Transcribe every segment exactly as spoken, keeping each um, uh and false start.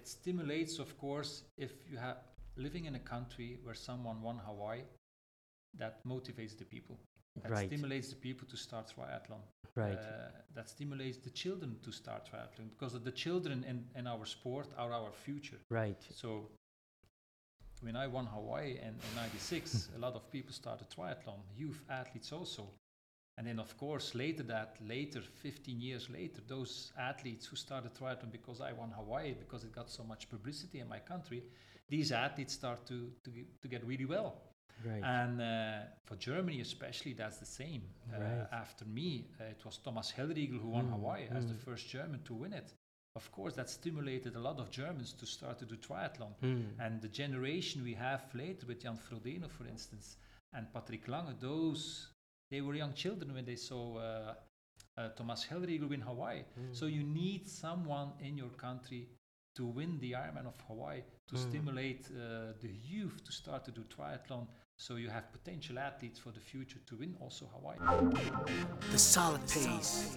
it stimulates, of course, if you have living in a country where someone won Hawaii, that motivates the people. That right. stimulates the people to start triathlon. Right. Uh, that stimulates the children to start triathlon, because the children in, in our sport are our future. Right. So when I won Hawaii in, in ninety-six, a lot of people started triathlon, youth athletes also. And then, of course, later that, later, fifteen years later, those athletes who started triathlon because I won Hawaii, because it got so much publicity in my country, these athletes start to, to, to get really well. Right. And uh, for Germany especially, that's the same. Uh, right. After me, uh, it was Thomas Hellriegel who won mm, Hawaii mm. as the first German to win it. Of course, that stimulated a lot of Germans to start to do triathlon. Mm. And the generation we have later with Jan Frodeno, for instance, and Patrick Lange, those, they were young children when they saw uh, uh, Thomas Hellriegel win Hawaii. Mm. So you need someone in your country to win the Ironman of Hawaii, to mm. stimulate uh, the youth to start to do triathlon, so you have potential athletes for the future to win also Hawaii. The solid pace,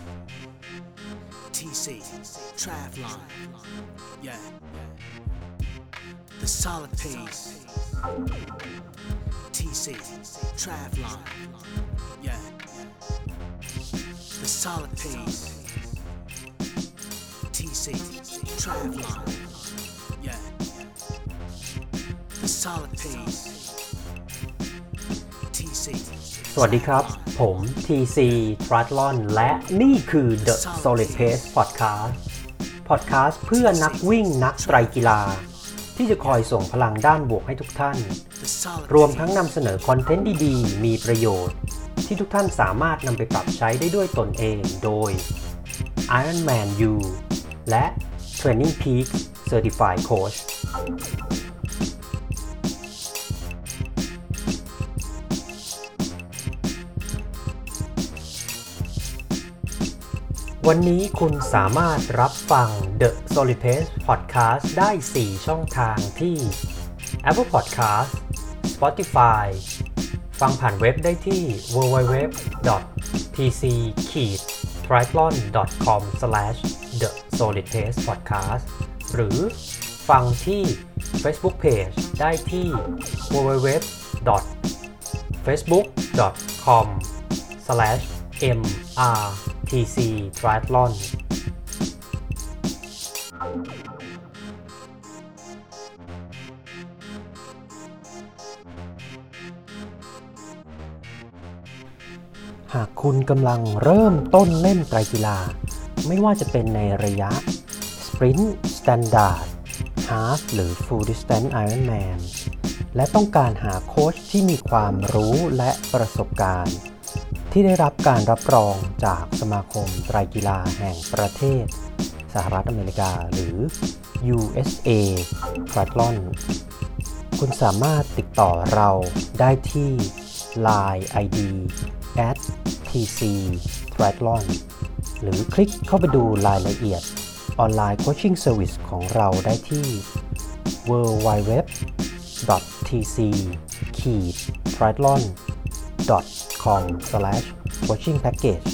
T C, triathlon, yeah. The solid pace, T C, triathlon, yeah. The solid pace, T C, triathlon, yeah. The solid pace, T C. สวัสดีครับผม ที ซี Triathlon และนี่คือ The Solid Pace Podcast Podcast เพื่อนักวิ่งนักไตรกีฬาที่จะคอยส่งพลังด้านบวกให้ทุกท่านรวมทั้งนำเสนอคอนเทนต์ดีๆมีประโยชน์ที่ทุกท่านสามารถนำไปปรับใช้ได้ด้วยตนเองโดย Ironman U และ Training Peaks Certified Coachวันนี้คุณสามารถรับฟัง The Solid Pace Podcast ได้สี่ช่องทางที่ Apple Podcast Spotify ฟังผ่านเว็บได้ที่ ดับเบิลยู ดับเบิลยู ดับเบิลยู ดอท ที ซี ทริแอธลอน ดอท คอม สแลช เดอะ โซลิด เพจ พอดแคสต์ หรือฟังที่ Facebook Page ได้ที่ ดับเบิลยู ดับเบิลยู ดับเบิลยู ดอท เฟซบุ๊ก ดอท คอม สแลช เอ็ม อาร์ ที ซี Triathlon หากคุณกำลังเริ่มต้นเล่นไตรกีฬาไม่ว่าจะเป็นในระยะ Sprint Standard Half หรือ Full Distance Ironman และต้องการหาโค้ชที่มีความรู้และประสบการณ์ที่ได้รับการรับรองจากสมาคมไตรกีฬาแห่งประเทศสหรัฐอเมริกาหรือ ยู เอส เอ Triathlon คุณสามารถติดต่อเราได้ที่ ไลน์ ไอ ดี แอท ที ซี Triathlon หรือคลิกเข้าไปดูรายละเอียดออนไลน์โคชชิ่งเซอร์วิสของเราได้ที่ ดับเบิลยู ดับเบิลยู ดับเบิลยู ดอท ที ซี ทริแอธลอน ดอท คอม สแลช โคชชิ่งแพ็คเกจ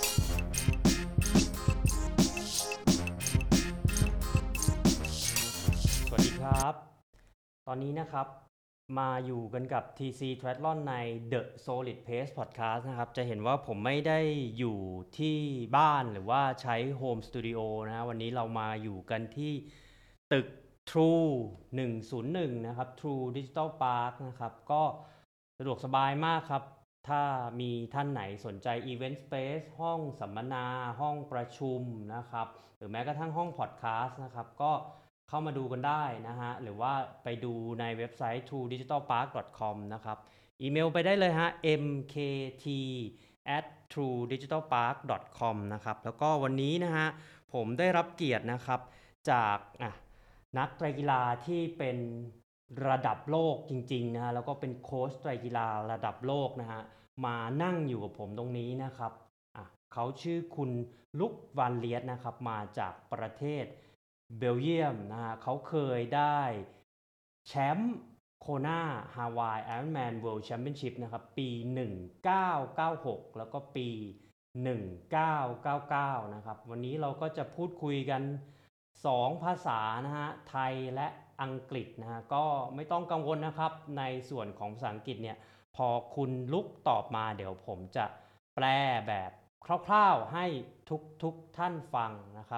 สวัสดีครับ ตอนนี้นะครับมาอยู่กันกับ ที ซี Triathlon ใน The Solid Pace Podcast นะครับจะเห็นว่าผมไม่ได้อยู่ที่บ้านหรือว่าใช้ Home Studio นะฮะวันนี้เรามาอยู่กันที่ตึก True หนึ่งศูนย์หนึ่งนะครับ True Digital Park นะครับก็สะดวกสบายมากครับถ้ามีท่านไหนสนใจ Event Space ห้องสัมมนาห้องประชุมนะครับหรือแม้กระทั่งห้อง Podcast นะครับก็เข้ามาดูกันได้นะฮะหรือว่าไปดูในเว็บไซต์ ทรู ดิจิทัล พาร์ค ดอท คอม นะครับอีเมลไปได้เลยฮะ เอ็ม เค ที แอท ทรู ดิจิทัล พาร์ค ดอท คอม นะครับแล้วก็วันนี้นะฮะผมได้รับเกียรตินะครับจากอ่ะนักไตรกีฬาที่เป็นระดับโลกจริงๆนะฮะแล้วก็เป็นโค้ชไตรกีฬาระดับโลกนะฮะมานั่งอยู่กับผมตรงนี้นะครับอ่ะเขาชื่อคุณลุกวานเลียสนะครับมาจากประเทศเบลเยียมนะฮะเขาเคยได้แชมป์โคนาฮาวายไอรอนแมนเวิลด์แชมเปี้ยนชิพนะครับปีหนึ่งพันเก้าร้อยเก้าสิบหกแล้วก็ปีหนึ่งพันเก้าร้อยเก้าสิบเก้านะครับวันนี้เราก็จะพูดคุยกันสองภาษานะฮะไทยและอังกฤษนะฮะก็ไม่ต้องกังวลนะครับในส่วนของภาษาอังกฤษเนี่ยพอคุณลุกตอบมาเดี๋ยวผมจะแปลแบบคร่าวๆให้ทุกทุกท่านฟังนะครับ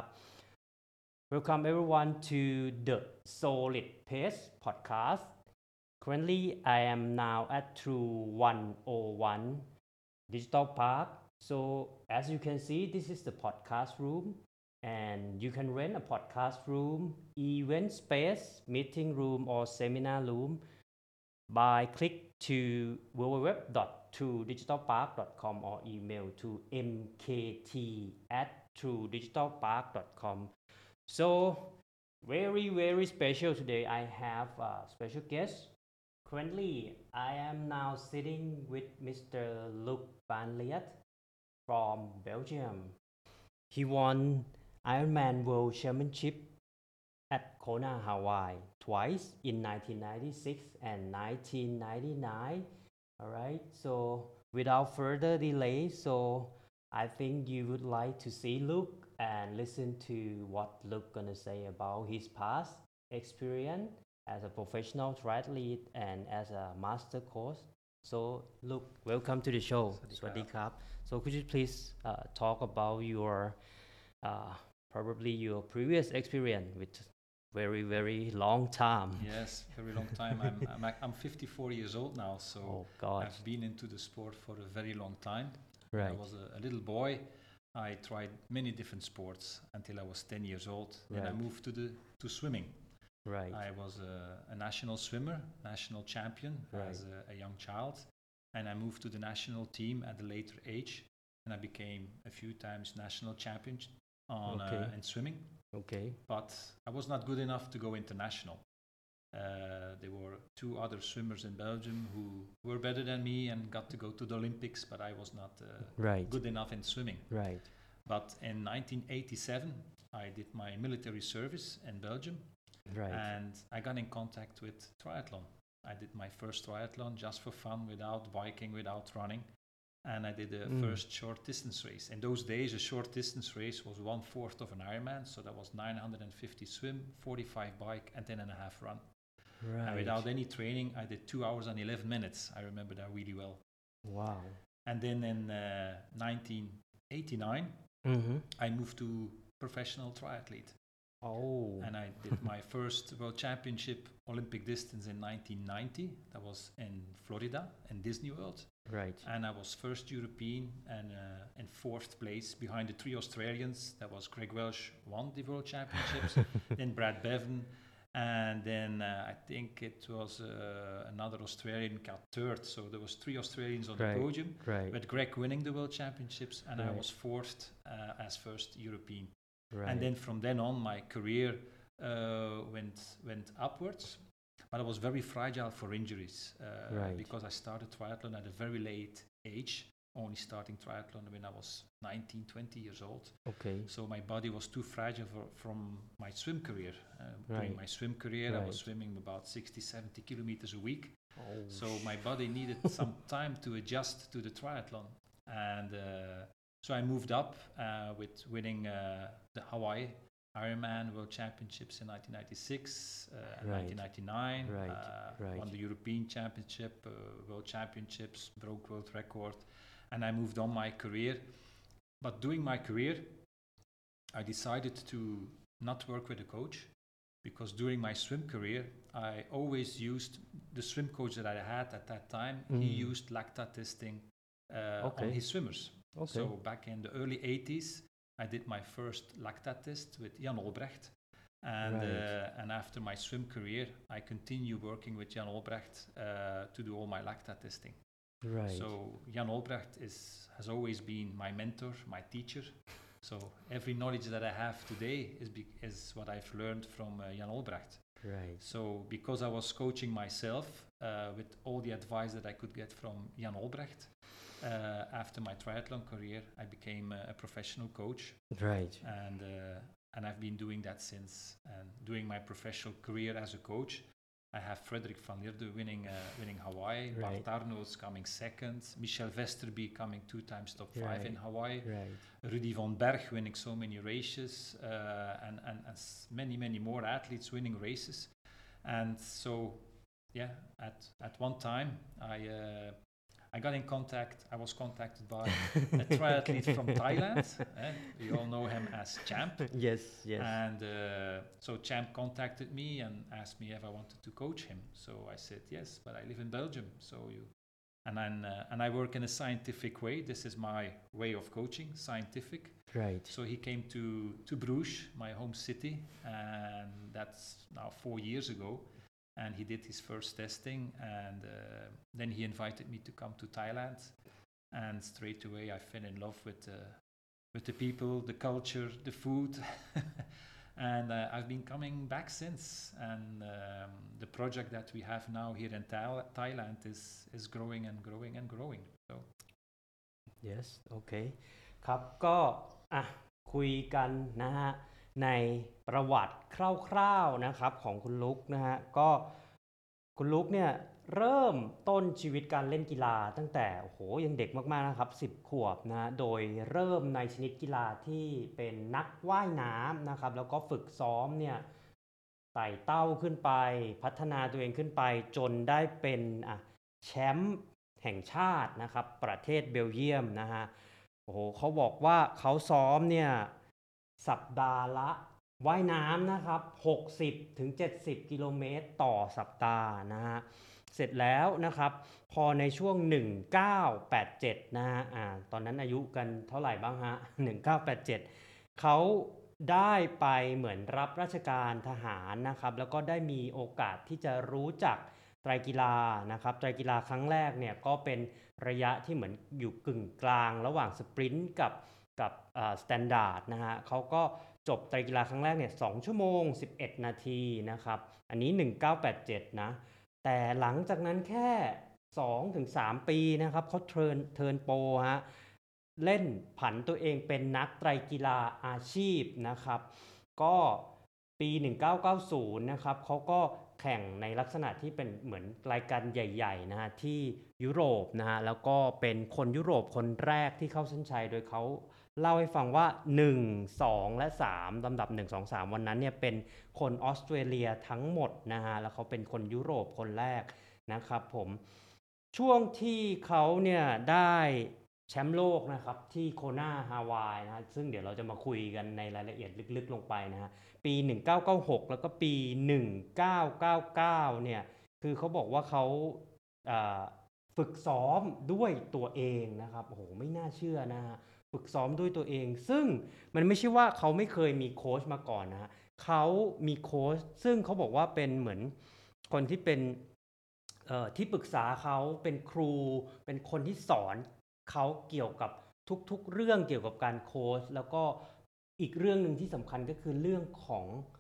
Welcome everyone to the Solid Pace podcast. Currently, I am now at True one oh one Digital Park. So as you can see, this is the podcast room, and you can rent a podcast room, event space, meeting room, or seminar room by click to w w w dot true digital park dot com or email to m k t at true digital park dot com. So very very special today. I have a special guest. Currently, I am now sitting with Mister Luc Van Liet from Belgium. He won Ironman World Championship at Kona, Hawaii twice in nineteen ninety-six and nineteen ninety-nine. All right, so without further delay, so I think you would like to see Luc and listen to what Luc gonna say about his past experience as a professional triathlete and as a master coach. So Luc, welcome to the show. สวัสดีครับ So could you please uh, talk about your uh, probably your previous experience with very very long time. Yes, very long time. I'm, I'm ac- I'm fifty-four years old now, so Oh gosh. I've been into the sport for a very long time. When Right. I was a, a little boy. I tried many different sports until I was ten years old. Then I Right. moved to the to swimming. Right. I was a, a national swimmer, national champion Right. as a, a young child, and I moved to the national team at a later age, and I became a few times national champion on Okay. uh, in swimming. Okay. But I was not good enough to go international. Uh, there were two other swimmers in Belgium who were better than me and got to go to the Olympics, but I was not uh, Right. good enough in swimming. Right. But in nineteen eighty-seven, I did my military service in Belgium, Right. and I got in contact with triathlon. I did my first triathlon just for fun, without biking, without running, and I did a Mm. first short distance race. In those days, a short distance race was one fourth of an Ironman, so that was nine hundred fifty swim, forty-five bike, and ten and a half run. Right. And without any training, I did two hours and eleven minutes. I remember that really well. Wow. And then in uh, nineteen eighty-nine, Mm-hmm. I moved to professional triathlete. Oh. And I did my first World Championship Olympic distance in nineteen ninety. That was in Florida, in Disney World. Right. And I was first European and uh, in fourth place behind the three Australians. That was Greg Welsh won the World Championships, then Brad Bevan, and then uh, I think it was uh, another Australian got third. So there was three Australians on Right. the podium, Right. with Greg winning the World Championships, and I Right. was fourth uh, as first European. Right. And then from then on, my career uh, went went upwards. But I was very fragile for injuries uh, Right. because I started triathlon at a very late age, only starting triathlon when I was nineteen, twenty years old. Okay. So my body was too fragile for, from my swim career. Uh, During Right. my swim career, I was Right. swimming about sixty, seventy kilometers a week. Oh. So my body needed some time to adjust to the triathlon. And uh, so I moved up uh, with winning uh, the Hawaii Ironman World Championships in nineteen ninety-six, uh, and Right. nineteen ninety-nine, Right, uh, right. won the European Championship, uh, World Championships, broke world record, and I moved on my career. But during my career, I decided to not work with a coach, because during my swim career, I always used the swim coach that I had at that time. He Mm. used lactate testing uh, Okay. on his swimmers. Okay. So back in the early eighties, I did my first lactate test with Jan Olbrecht. And, Right. uh, and after my swim career, I continue working with Jan Olbrecht uh, to do all my lactate testing. Right. So Jan Olbrecht is, has always been my mentor, my teacher. So every knowledge that I have today is, be, is what I've learned from uh, Jan Olbrecht. Right. So because I was coaching myself uh, with all the advice that I could get from Jan Olbrecht, uh, after my triathlon career, I became a, a professional coach, Right. and uh, and I've been doing that since. And doing my professional career as a coach, I have Frederik van Lierde winning uh, winning Hawaii, Right. Bart Arnolds coming second, Michel Vesterby coming two times top five in Right. Hawaii, Right. Rudy van Berg winning so many races, uh, and, and, and s- many, many more athletes winning races. And so, yeah, at, at one time, I, uh, I got in contact, I was contacted by a triathlete from Thailand. Eh? We all know him as Champ. Yes, yes. And uh, so Champ contacted me and asked me if I wanted to coach him. So I said yes, but I live in Belgium, so you. And then, uh, and I work in a scientific way. This is my way of coaching, scientific. Right. So he came to to Bruges, my home city, and that's now four years ago. And he did his first testing, and uh, then he invited me to come to Thailand. And straight away, I fell in love with uh, with the people, the culture, the food. And uh, I've been coming back since. And um, the project that we have now here in Thai- Thailand is is growing and growing and growing. So Yes โอเคครับก็อ่ะคุยกันนะฮะในประวัติคร่าวๆนะครับของคุณลุกนะฮะก็คุณลุกเนี่ยเริ่มต้นชีวิตการเล่นกีฬาตั้งแต่โอ้โหยังเด็กมากๆนะครับสิบขวบนะโดยเริ่มในชนิดกีฬาที่เป็นนักว่ายน้ำนะครับแล้วก็ฝึกซ้อมเนี่ยไต่เต้าขึ้นไปพัฒนาตัวเองขึ้นไปจนได้เป็นอ่ะแชมป์แห่งชาตินะครับประเทศเบลเยียมนะฮะโอ้โหเขาบอกว่าเขาซ้อมเนี่ยสัปดาห์ละว่ายน้ำนะครับหกสิบถึงเจ็ดสิบกิโลเมตรต่อสัปดาห์นะฮะเสร็จแล้วนะครับพอในช่วงหนึ่งพันเก้าร้อยแปดสิบเจ็ดนะฮะอ่าตอนนั้นอายุกันเท่าไหร่บ้างฮะหนึ่งพันเก้าร้อยแปดสิบเจ็ดเขาได้ไปเหมือนรับราชการทหารนะครับแล้วก็ได้มีโอกาสที่จะรู้จักไตรกีฬานะครับไตรกีฬาครั้งแรกเนี่ยก็เป็นระยะที่เหมือนอยู่กึ่งกลางระหว่างสปรินต์กับกับอ่าสแตนดาร์ดนะฮะเขาก็จบไตรกีฬาครั้งแรกเนี่ยสองชั่วโมงสิบเอ็ดนาทีนะครับอันนี้หนึ่งพันเก้าร้อยแปดสิบเจ็ดนะแต่หลังจากนั้นแค่ สองถึงสาม ปีนะครับเขาเทิร์นเทิร์นโปรฮะเล่นผันตัวเองเป็นนักไตรกีฬาอาชีพนะครับก็ปีหนึ่งพันเก้าร้อยเก้าสิบนะครับเขาก็แข่งในลักษณะที่เป็นเหมือนรายการใหญ่ๆนะฮะที่ยุโรปนะฮะแล้วก็เป็นคนยุโรปคนแรกที่เข้าเส้นชัยโดยเขาเล่าให้ฟังว่าหนึ่ง สองและสามลำดับหนึ่ง สอง สามวันนั้นเนี่ยเป็นคนออสเตรเลียทั้งหมดนะฮะแล้วเขาเป็นคนยุโรปคนแรกนะครับผมช่วงที่เขาเนี่ยได้แชมป์โลกนะครับที่โคนาฮาวายนะฮะซึ่งเดี๋ยวเราจะมาคุยกันในรายละเอียดลึกๆลงไปนะฮะปีหนึ่งพันเก้าร้อยเก้าสิบหกแล้วก็ปีหนึ่งพันเก้าร้อยเก้าสิบเก้าเนี่ยคือเขาบอกว่าเขาอ่าฝึกซ้อมด้วยตัวเองนะครับโอ้โหไม่น่าเชื่อนะฮะฝึกซ้อมด้วยตัวเองซึ่งมันไม่ใช่ว่าเขาไม่เคยมีโค้ชมาก่อนนะฮะเขามีโค้ชซึ่งเขาบอกว่าเป็นเหมือนคนที่เป็นเอ่อที่ปรึกษาเขาเป็นครูเป็นคนที่สอนเขาเกี่ยวกับทุกๆเรื่องเกี่ยวกับการโค้ชแล้วก็อีกเรื่องหนึ่งที่สำคัญก็คือเรื่องของ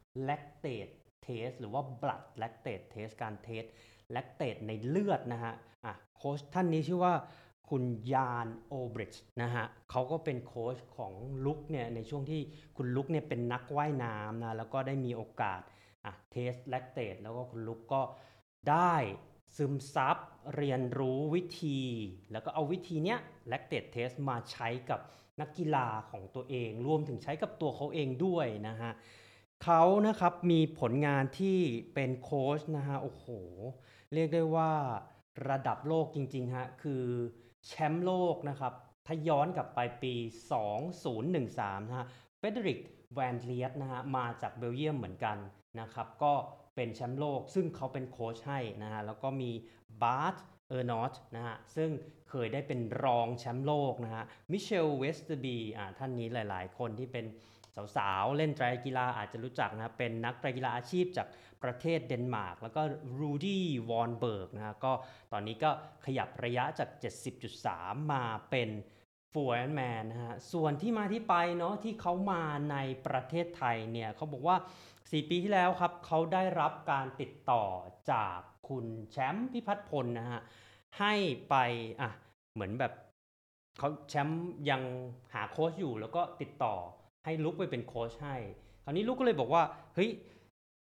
lactate test หรือว่า blood lactate test การเทส lactate ในเลือดนะฮะอ่ะโค้ชท่านนี้ชื่อว่าคุณยานโอบริดจ์นะฮะเขาก็เป็นโค้ชของลุกเนี่ยในช่วงที่คุณลุกเนี่ยเป็นนักว่ายน้ำนะแล้วก็ได้มีโอกาสอ่ะเทส lactate แล้วก็คุณลุกก็ได้ซึมซับเรียนรู้วิธีแล้วก็เอาวิธีเนี้ย lactate test มาใช้กับนักกีฬาของตัวเองรวมถึงใช้กับตัวเขาเองด้วยนะฮะเขานะครับมีผลงานที่เป็นโค้ชนะฮะโอ้โหเรียกได้ว่าระดับโลกจริงๆฮะคือแชมป์โลกนะครับถ้าย้อนกลับไปปีสองพันสิบสามนะฮะเฟเดริกแวนเลียตนะฮะมาจากเบลเยียมเหมือนกันนะครับก็เป็นแชมป์โลกซึ่งเขาเป็นโค้ชให้นะฮะแล้วก็มีบาร์ตเออร์นอตนะฮะซึ่งเคยได้เป็นรองแชมป์โลกนะฮะมิเชลเวสเตอร์บีอ่าท่านนี้หลายๆคนที่เป็นสาวๆเล่นไตรกีฬาอาจจะรู้จักนะเป็นนักไตรกีฬาอาชีพจากประเทศเดนมาร์กแล้วก็รูดี้วอนเบิร์กนะฮะก็ตอนนี้ก็ขยับระยะจาก เจ็ดสิบจุดสาม มาเป็นฟูลไอรอนแมนนะฮะส่วนที่มาที่ไปเนาะที่เขามาในประเทศไทยเนี่ยเขาบอกว่าสี่ปีที่แล้วครับเขาได้รับการติดต่อจากคุณแชมป์พิพัฒน์พลนะฮะให้ไปอ่ะเหมือนแบบเขาแชมป์ยังหาโค้ชอยู่แล้วก็ติดต่อให้ลุกไปเป็นโค้ชให้คราวนี้ลุกก็เลยบอกว่าเฮ้ยแช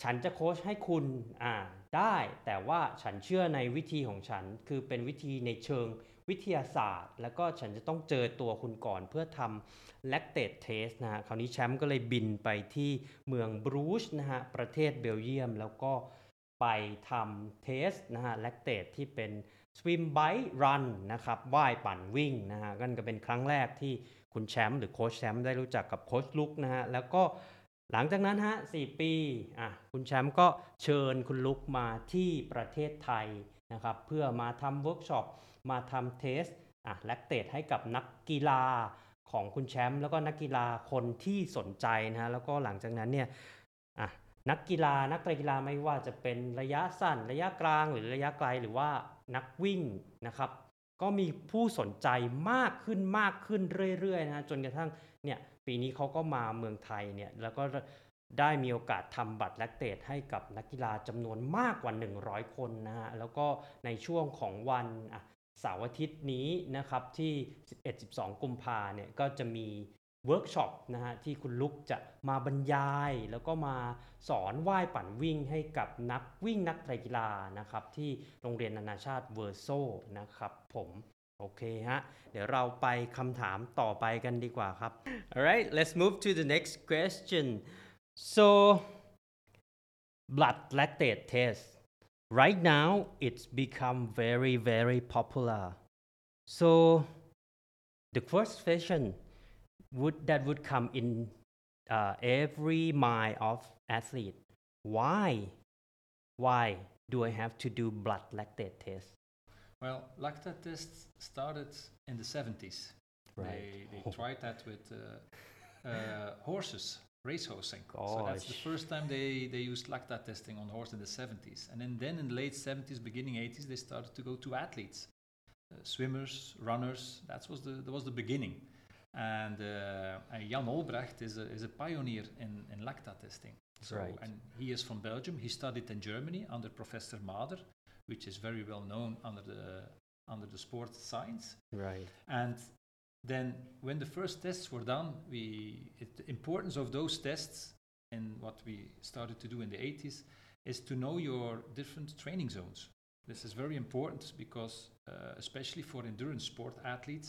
ฉันจะโค้ชให้คุณอ่าได้แต่ว่าฉันเชื่อในวิธีของฉันคือเป็นวิธีในเชิงวิทยาศาสตร์แล้วก็ฉันจะต้องเจอตัวคุณก่อนเพื่อทำ lactate test นะฮะคราวนี้แชมป์ก็เลยบินไปที่เมืองบรูชนะฮะประเทศเบลเยียมแล้วก็ไปทำเทสนะฮะ lactate ที่เป็น swim bike run นะครับว่ายปั่นวิ่งนะฮะนั่นก็เป็นครั้งแรกที่คุณแชมป์หรือโค้ชแชมป์ได้รู้จักกับโค้ชลุกนะฮะแล้วก็หลังจากนั้นฮะสี่ปีอ่ะคุณแชมป์ก็เชิญคุณลุกมาที่ประเทศไทยนะครับเพื่อมาทำเวิร์กช็อปมาทำเทสอ่ะแลคเตตให้กับนักกีฬาของคุณแชมป์แล้วก็นักกีฬาคนที่สนใจนะฮะแล้วก็หลังจากนั้นเนี่ยอ่ะนักกีฬานักไตรกีฬาไม่ว่าจะเป็นระยะสั้นระยะกลางหรือระยะไกลหรือว่านักวิ่งนะครับก็มีผู้สนใจมากขึ้นมากขึ้นเรื่อยๆนะฮะจนกระทั่งเนี่ยปีนี้เขาก็มาเมืองไทยเนี่ยแล้วก็ได้มีโอกาสทำบัตรแลคเตตให้กับนักกีฬาจำนวนมากกว่าหนึ่งร้อยคนนะฮะแล้วก็ในช่วงของวันอ่ะเสาร์อาทิตย์นี้นะครับที่ สิบเอ็ด สิบสอง กุมภาเนี่ยก็จะมีเวิร์กช็อปนะฮะที่คุณลุกจะมาบรรยายแล้วก็มาสอนว่ายปั่นวิ่งให้กับนักวิ่งนักไตรกีฬานะครับที่โรงเรียนนานาชาติเวอร์โซนะครับผมโอเคฮะเดี๋ยวเราไปคำถามต่อไปกันดีกว่าครับ Alright let's move to the next question so blood lactate test right now it's become very very popular so the first question would that would come in uh, every mind of athlete why why do I have to do blood lactate test Well, lactate tests started in the seventies. Right. They, they Oh. tried that with uh, uh, horses, racehosing. Gosh. So that's the first time they, they used lactate testing on horse in the seventies. And then, then in the late seventies, beginning eighties, they started to go to athletes, uh, swimmers, runners. That was the that was the beginning. And, uh, and Jan Olbrecht is a, is a pioneer in, in lactate testing. So, Right. And he is from Belgium. He studied in Germany under Professor Mader, which is very well known under the under the sports science. right And then when the first tests were done, we it, the importance of those tests and what we started to do in the eighties is to know your different training zones. This is very important because uh, especially for endurance sport athletes,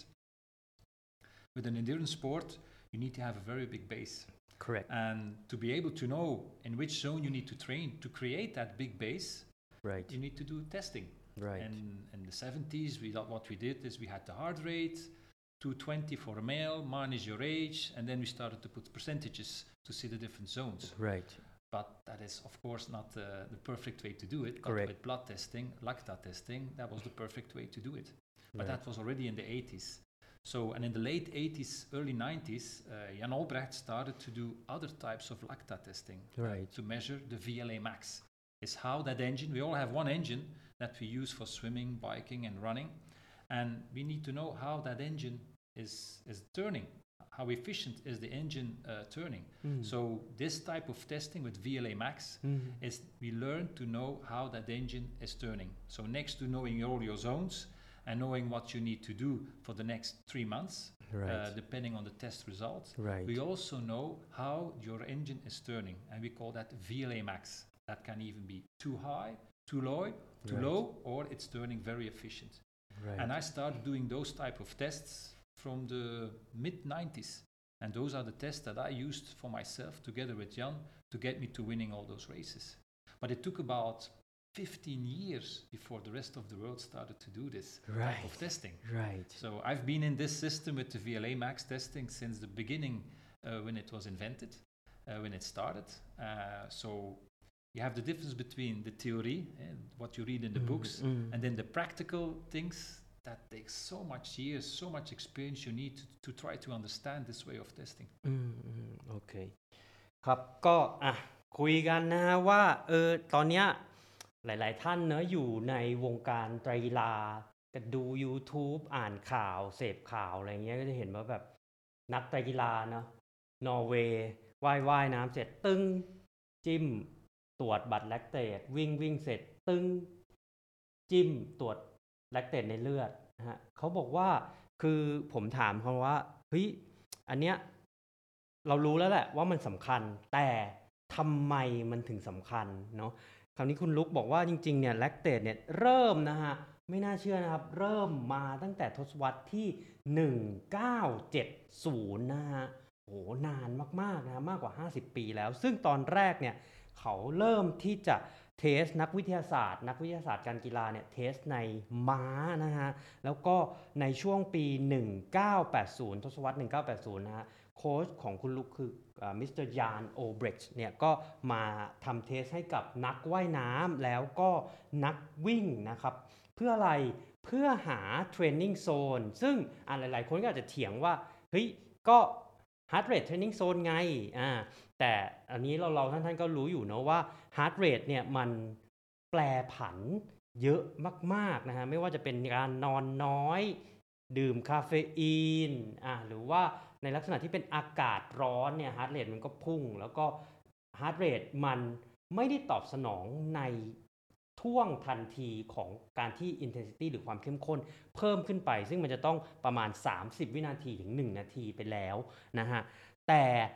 with an endurance sport, you need to have a very big base. correct And to be able to know in which zone you need to train to create that big base, right you need to do testing. right And in the seventies, we thought what we did is we had the heart rate, two twenty for a male, minus your age, and then we started to put percentages to see the different zones. right But that is, of course, not uh, the perfect way to do it. But Correct. with blood testing, lactate testing, that was the perfect way to do it. But Right. that was already in the eighties. So, and in the late eighties, early nineties, uh, Jan Olbrecht started to do other types of lactate testing uh, Right. to measure the V L A max. Is how that engine, we all have one engine that we use for swimming, biking, and running. And we need to know how that engine is, is turning. How efficient is the engine uh, turning? Mm. So this type of testing with V L A max Mm. is we learn to know how that engine is turning. So next to knowing all your zones and knowing what you need to do for the next three months, right uh, depending on the test results, right we also know how your engine is turning, and we call that V L A max. That can even be too high, too low, too Right. low, or it's turning very efficient. right And I started doing those type of tests from the mid nineties. And those are the tests that I used for myself together with Jan to get me to winning all those races. But it took about fifteen years before the rest of the world started to do this type Right. of testing. right So I've been in this system with the V L A max testing since the beginning uh, when it was invented, uh, when it started. Uh, so you have the difference between the theory and what you read in the Mm, books mm. and then the practical things that takes so much years, so much experience you need to, to try to understand this way of testing. อืมอืมโอเคครับก็อ่ะคุยกันนะฮะว่าเออตอนเนี้ยหลาย ๆ ท่านเนอะอยู่ในวงการไตรกีฬาก็ดู YouTube อ่านข่าวเสพข่าวอะไรเงี้ยก็จะเห็นว่าแบบนักไตรกีฬาเนาะนอร์เวย์ว่ายว่ายน้ำเสร็จตึ้งจิ้มตรวจบัตรแลคเตตวิ่งวิ่งเสร็จตึ้งจิ้มตรวจแลคเตตในเลือดนะฮะเขาบอกว่าคือผมถามเขาว่าเฮ้ยอันเนี้ยเรารู้แล้วแหละว่ามันสำคัญแต่ทำไมมันถึงสำคัญเนาะคราวนี้คุณลุกบอกว่าจริงๆเนี่ยแลคเตตเนี่ยเริ่มนะฮะไม่น่าเชื่อนะครับเริ่มมาตั้งแต่ทศวรรษที่หนึ่งพันเก้าร้อยเจ็ดสิบนะฮะโหนานมากๆนะมากกว่าห้าสิบปีแล้วซึ่งตอนแรกเนี่ยเขาเริ่มที่จะเทสนักวิทยาศาสตร์นักวิทยาศาสตร์การกีฬาเนี่ยเทสในม้านะฮะแล้วก็ในช่วงปีหนึ่งพันเก้าร้อยแปดสิบทศวรรษหนึ่งพันเก้าร้อยแปดสิบนะฮะโค้ชของคุณลุกคือมิสเตอร์ยานโอเบรกเนี่ยก็มาทำเทสให้กับนักว่ายน้ำแล้วก็นักวิ่งนะครับเพื่ออะไรเพื่อหาเทรนนิ่งโซนซึ่งอ่าหลายๆคนก็อาจจะเถียงว่าเฮ้ยก็ heart rate training zone ไงอ่าแต่อันนี้เราเราท่านท่านก็รู้อยู่เนาะว่า heart rate เนี่ยมันแปรผันเยอะมากๆนะฮะไม่ว่าจะเป็นการนอนน้อยดื่มคาเฟอีนอ่าหรือว่าในลักษณะที่เป็นอากาศร้อนเนี่ย heart rate มันก็พุ่งแล้วก็ heart rate มันไม่ได้ตอบสนองในท่วงทันทีของการที่ intensity หรือความเข้มข้นเพิ่มขึ้นไปซึ่งมันจะต้องประมาณสามสิบวินาทีถึงหนึ่งนาทีไปแล้วนะฮะแต่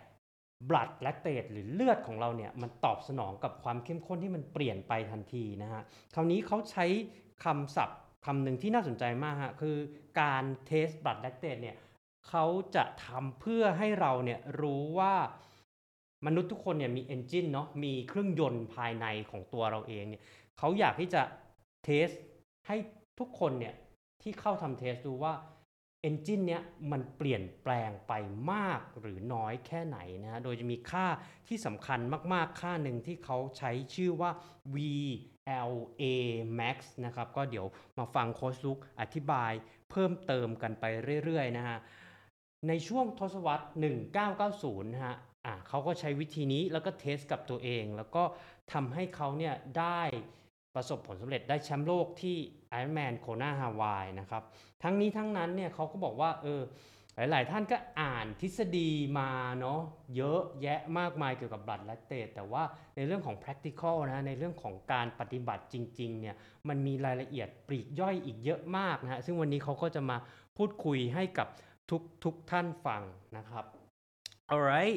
blood lactate หรือเลือดของเราเนี่ยมันตอบสนองกับความเข้มข้นที่มันเปลี่ยนไปทันทีนะฮะคราวนี้เขาใช้คำศัพท์คำหนึ่งที่น่าสนใจมากฮะคือการเทส blood lactate เนี่ยเขาจะทำเพื่อให้เราเนี่ยรู้ว่ามนุษย์ทุกคนเนี่ยมี engine เนาะมีเครื่องยนต์ภายในของตัวเราเองเนี่ยเขาอยากที่จะเทสให้ทุกคนเนี่ยที่เข้าทำเทสดูว่า engine เนี้ยมันเปลี่ยนแปลงไปมากหรือน้อยแค่ไหนนะฮะโดยจะมีค่าที่สำคัญมากๆค่าหนึ่งที่เขาใช้ชื่อว่า วี แอล เอ max นะครับก็เดี๋ยวมาฟังโค้ชลุกอธิบายเพิ่มเติมกันไปเรื่อยๆนะฮะในช่วงทศวรรษหนึ่งพันเก้าร้อยเก้าสิบนะฮะอ่ะเขาก็ใช้วิธีนี้แล้วก็เทสกับตัวเองแล้วก็ทำให้เขาเนี่ยได้ประสบผลสำเร็จได้แชมป์โลกที่ Ironman Kona Hawaii นะครับทั้งนี้ทั้งนั้นเนี่ยเขาก็บอกว่าเออหลายๆท่านก็อ่านทฤษฎีมาเนาะเยอะแยะมากมายเกี่ยวกับ blood lactate แต่ว่าในเรื่องของ practical นะในเรื่องของการปฏิบัติจริงๆเนี่ยมันมีรายละเอียดปลีกย่อยอีกเยอะมากนะฮะซึ่งวันนี้เขาก็จะมาพูดคุยให้กับทุกทุกท่านฟังนะครับ alright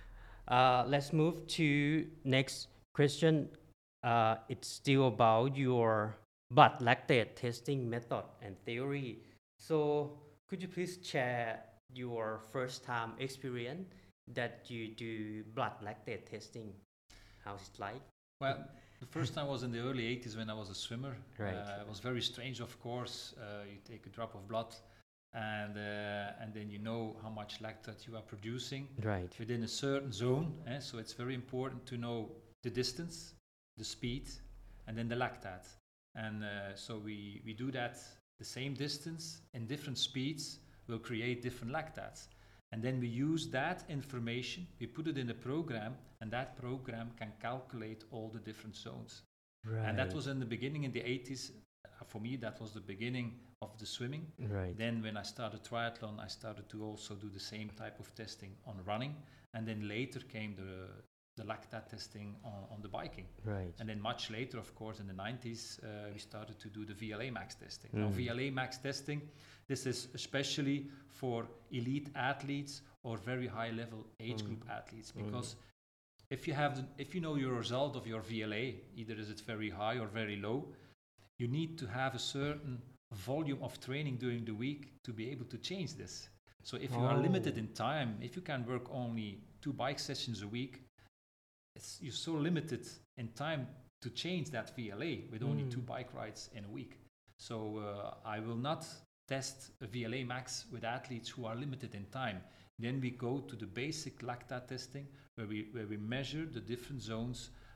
uh, let's move to next question uh, it's still about your blood lactate testing method and theory so could you please share your first time experience that you do blood lactate testing how's it like Well, the first time was in the early eighties when I was a swimmer. Right. Uh, it was very strange, of course. Uh, you take a drop of blood, and uh, and then you know how much lactate you are producing right within a certain zone. Eh? So it's very important to know the distance, the speed, and then the lactate. And uh, so we we do that the same distance in different speeds will create different lactates. And then we use that information, we put it in a program, and that program can calculate all the different zones. right And that was in the beginning in the eighties. Uh, For me, that was the beginning of the swimming. right Then when I started triathlon, I started to also do the same type of testing on running. And then later came the, the lactate testing on, on the biking. right And then much later, of course, in the nineties, uh, we started to do the V L A max testing. Now, Mm. V L A max testing, this is especially for elite athletes or very high level age Mm. group athletes, Mm. because if you have the, if you know your result of your V L A, either is it very high or very low, you need to have a certain volume of training during the week to be able to change this. So if you are limited Oh. in time, if you can work only two bike sessions a week, it's, you're so limited in time to change that V L A with only Mm. two bike rides in a week. So uh, I will not test a V L A max with athletes who are limited in time. Then we go to the basic lactate testing where we, where we measure the different zones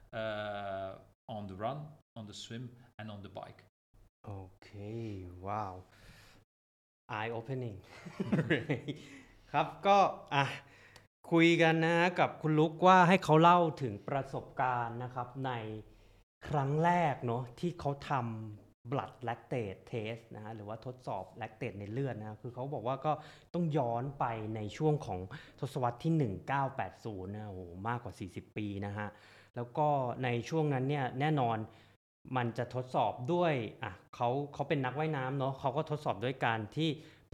uh, on the run, on the swim, and on the bike. โอเคว้าว eye opening ครับก็อ่ะคุยกันนะกับคุณลุกว่าให้เขาเล่าถึงประสบการณ์นะครับในครั้งแรกเนาะที่เขาทำ blood lactate test นะฮะหรือว่าทดสอบ lactate ในเลือดนะคือเขาบอกว่าก็ต้องย้อนไปในช่วงของทศวรรษที่หนึ่งพันเก้าร้อยแปดสิบนะโอ้โหมากกว่าสี่สิบปีนะฮะแล้วก็ในช่วงนั้นเนี่ยแน่นอนมันจะทดสอบด้วยอ่ะเขาเขาเป็นนักว่ายน้ำเนาะเขาก็ทดสอบด้วยการที่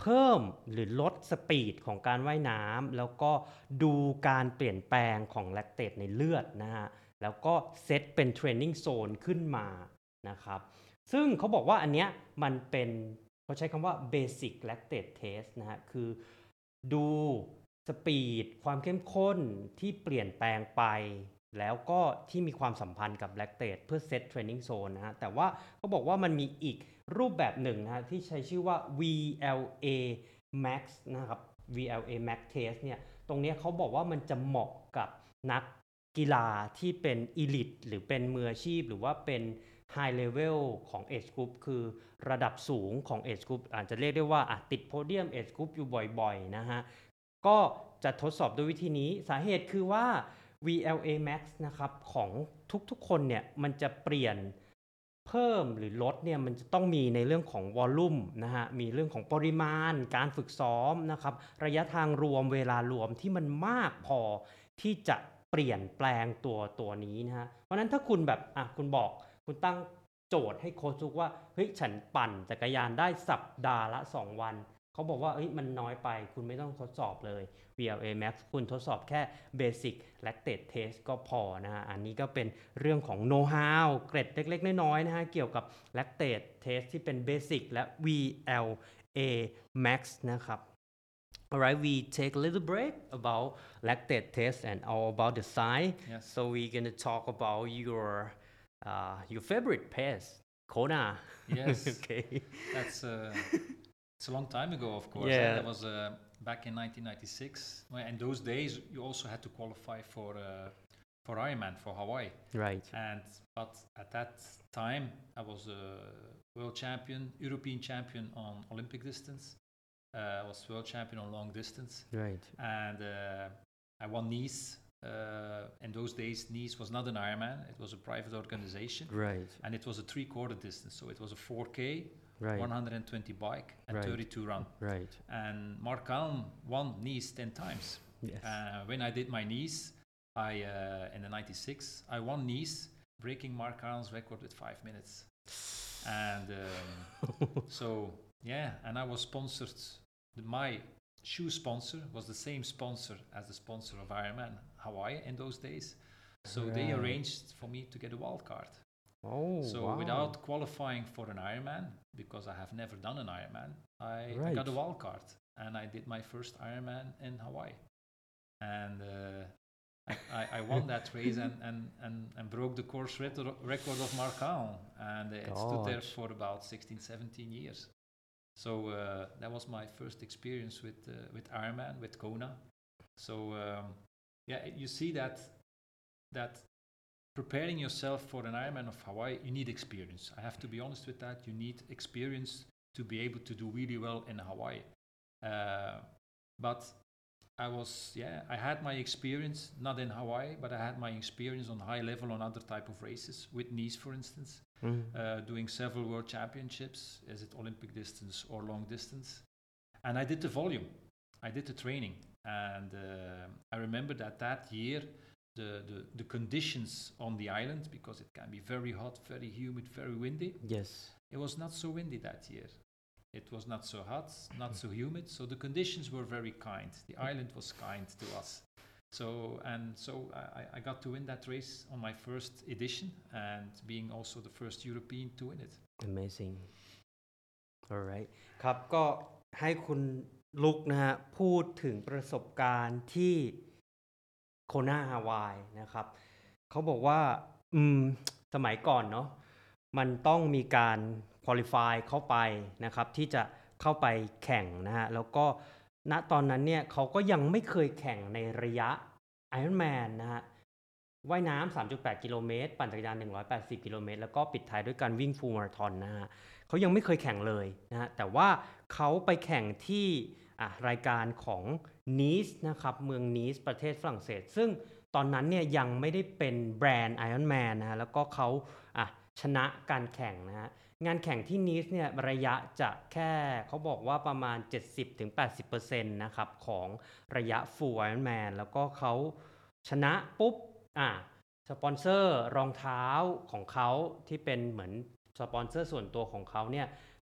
เพิ่มหรือลดสปีดของการว่ายน้ำแล้วก็ดูการเปลี่ยนแปลงของแลคเตตในเลือดนะฮะแล้วก็เซตเป็นเทรนนิ่งโซนขึ้นมานะครับซึ่งเขาบอกว่าอันเนี้ยมันเป็นเขาใช้คำว่า Basic Lactate Test นะฮะคือดูสปีดความเข้มข้นที่เปลี่ยนแปลงไปแล้วก็ที่มีความสัมพันธ์กับแลคเตตเพื่อเซตเทรนนิ่งโซนนะฮะแต่ว่าเขาบอกว่ามันมีอีกรูปแบบหนึ่งนะฮะที่ใช้ชื่อว่า วี แอล เอ Max นะครับ วี แอล เอ Max Test เนี่ยตรงนี้เขาบอกว่ามันจะเหมาะกับนักกีฬาที่เป็น Elite หรือเป็นมืออาชีพหรือว่าเป็น High Level ของ Age Group คือระดับสูงของ Age Group อาจจะเรียกได้ว่าติดโพเดียม Age Group อยู่บ่อยๆนะฮะก็จะทดสอบด้วยวิธีนี้สาเหตุคือว่า วี แอล เอ Max นะครับของทุกๆคนเนี่ยมันจะเปลี่ยนเพิ่มหรือลดเนี่ยมันจะต้องมีในเรื่องของวอลลุ่มนะฮะมีเรื่องของปริมาณการฝึกซ้อมนะครับระยะทางรวมเวลารวมที่มันมากพอที่จะเปลี่ยนแปลงตัวตัวนี้นะฮะเพราะนั้นถ้าคุณแบบอ่ะคุณบอกคุณตั้งโจทย์ให้โค้ชทุกว่าเฮ้ยฉันปั่นจักรยานได้สัปดาห์ละสองวันเขาบอกว่าเฮ้ยมันน้อยไปคุณไม่ต้องทดสอบเลย วี แอล เอ Max คุณทดสอบแค่ Basic Lactate Test ก็พอนะฮะอันนี้ก็เป็นเรื่องของ know how เกร็ดเล็กๆน้อยๆนะฮะเกี่ยวกับ Lactate Test ที่เป็น Basic และ วี แอล เอ Max นะครับ Alright, we take a little break about lactate test and all about the science. Yes. So we're gonna talk about your uh, your favorite pace, Kona. Yes. Okay. That's uh, it's a long time ago, of course. Yeah. eh? That was uh, back in nineteen ninety-six. Well, in those days, you also had to qualify for uh, for Ironman for Hawaii. Right. And but at that time, I was a world champion, European champion on Olympic distance. Uh, I was world champion on long distance, Right. and uh, I won Nice. Uh, in those days, Nice was not an Ironman; it was a private organization, Right. and it was a three-quarter distance. So it was a four K, Right. one hundred twenty bike, and Right. thirty-two run. Right. And Mark Alm won Nice ten times. Yes. Uh, when I did my Nice, I uh, in the ninety-six, I won Nice, breaking Mark Alm's record with five minutes. And um, so yeah, and I was sponsored. The, my shoe sponsor was the same sponsor as the sponsor of Ironman Hawaii in those days. So they Right. arranged for me to get a wild card. Oh, So wow. without qualifying for an Ironman, because I have never done an Ironman, I, I got a Right. wild card and I did my first Ironman in Hawaii. And uh, I, I, I won that race and, and, and, and broke the course record record of Marcal. And it stood there Gosh. for about sixteen, seventeen years. So uh, that was my first experience with uh, with Ironman, with Kona. So um, yeah, you see that that preparing yourself for an Ironman of Hawaii, you need experience. I have to be honest with that. You need experience to be able to do really well in Hawaii. Uh, but I was, yeah, I had my experience, not in Hawaii, but I had my experience on high level on other type of races, with Nice, for instance, Mhm. uh, doing several world championships, is it Olympic distance or long distance. And I did the volume, I did the training. And uh, I remember that that year, the, the, the conditions on the island, because it can be very hot, very humid, very windy, Yes. it was not so windy that year. It was not so hot, not so humid, so the conditions were very kind. The island was kind to us. So, and so I, I got to win that race on my first edition, and being also the first European to win it. Amazing alright ครับก็ให้คุณลุกนะฮะพูดถึงประสบการณ์ที่โคนาฮาวายนะครับเขาบอกว่าอืมสมัยก่อนเนาะมันต้องมีการควอลิฟายเข้าไปนะครับที่จะเข้าไปแข่งนะฮะแล้วก็ณตอนนั้นเนี่ยเขาก็ยังไม่เคยแข่งในระยะ Ironman นะฮะว่ายน้ำ สามจุดแปด กิโลเมตรปั่นจักรยาน หนึ่งร้อยแปดสิบ กิโลเมตรแล้วก็ปิดท้ายด้วยการวิ่งฟูลมาราธอนนะฮะเขายังไม่เคยแข่งเลยนะฮะแต่ว่าเขาไปแข่งที่อ่ะรายการของนีสนะครับเมืองนีสประเทศฝรั่งเศสซึ่งตอนนั้นเนี่ยยังไม่ได้เป็นแบรนด์ Ironman นะฮะแล้วก็เขาอ่ะชนะการแข่งนะฮะงานแข่งที่นีสเนี่ยระยะจะแค่เขาบอกว่าประมาณ เจ็ดสิบถึงแปดสิบเปอร์เซ็นต์ นะครับของระยะ Full Ironman แล้วก็เขาชนะปุ๊บอ่ะสปอนเซอร์รองเท้าของเขาที่เป็นเหมือนสปอนเซอร์ส่วนตัวของเขาเนี่ย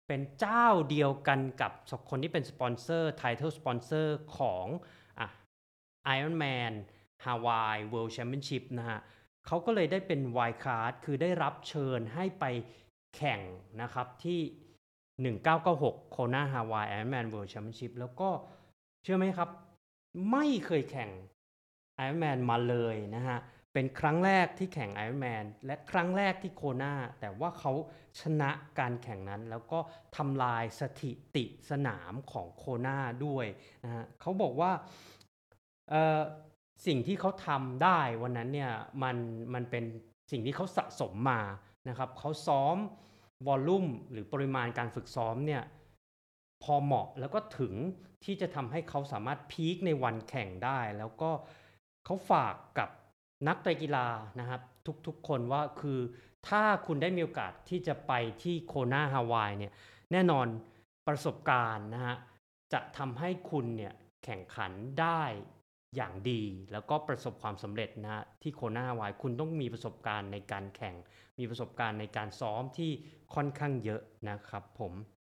เป็นเจ้าเดียวกันกับคนที่เป็นสปอนเซอร์ Title Sponsor ของอ่ะ Ironman Hawaii World Championship นะฮะเขาก็เลยได้เป็น Wild Card คือได้รับเชิญให้ไปแข่งนะครับที่หนึ่งเก้าเก้าหก Kona Hawaii Ironman World Championship แล้วก็เชื่อไหมครับไม่เคยแข่ง Ironman มาเลยนะฮะเป็นครั้งแรกที่แข่ง Ironman และครั้งแรกที่โคนาแต่ว่าเขาชนะการแข่งนั้นแล้วก็ทำลายสถิติสนามของโคนาด้วยนะฮะเขาบอกว่าเอ่อสิ่งที่เขาทำได้วันนั้นเนี่ยมันมันเป็นสิ่งที่เขาสะสมมานะครับเขาซ้อมวอลลุ่มหรือปริมาณการฝึกซ้อมเนี่ยพอเหมาะแล้วก็ถึงที่จะทำให้เขาสามารถพีคในวันแข่งได้แล้วก็เขาฝากกับนักไตรกีฬานะครับทุกๆคนว่าคือถ้าคุณได้มีโอกาสที่จะไปที่โคนาฮาวายเนี่ยแน่นอนประสบการณ์นะฮะจะทำให้คุณเนี่ยแข่งขันได้อย่างดีแล้วก็ประสบความสำเร็จนะฮะที่โคนาฮาวายคุณต้องมีประสบการณ์ในการแข่งมีประสบการณ์ในการซ้อมที่ค่อนข้างเยอะนะครับผม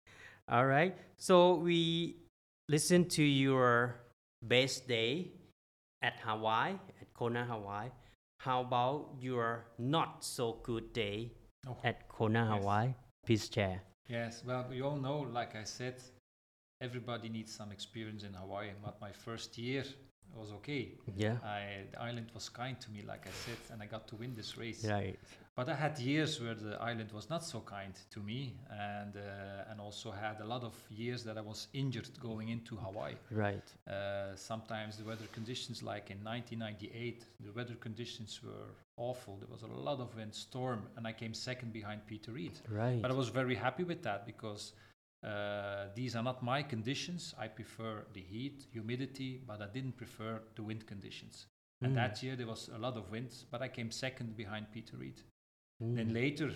Alright so we listen to your best day at Hawaii at Kona Hawaii how about your not so good day Oh, at Kona yes. Hawaii please share Yes, well, we all know, like I said, everybody needs some experience in Hawaii. But my first year was okay. yeah I, the island was kind to me, like I said, and I got to win this race. right But I had years where the island was not so kind to me, and uh, and also had a lot of years that I was injured going into Hawaii. right Uh, sometimes the weather conditions, like in nineteen ninety-eight, the weather conditions were awful. There was a lot of wind, storm, and I came second behind Peter Reed. right But I was very happy with that because uh, these are not my conditions. I prefer the heat, humidity, but I didn't prefer the wind conditions. And Mm. that year there was a lot of wind, but I came second behind Peter Reed. Mm. Then later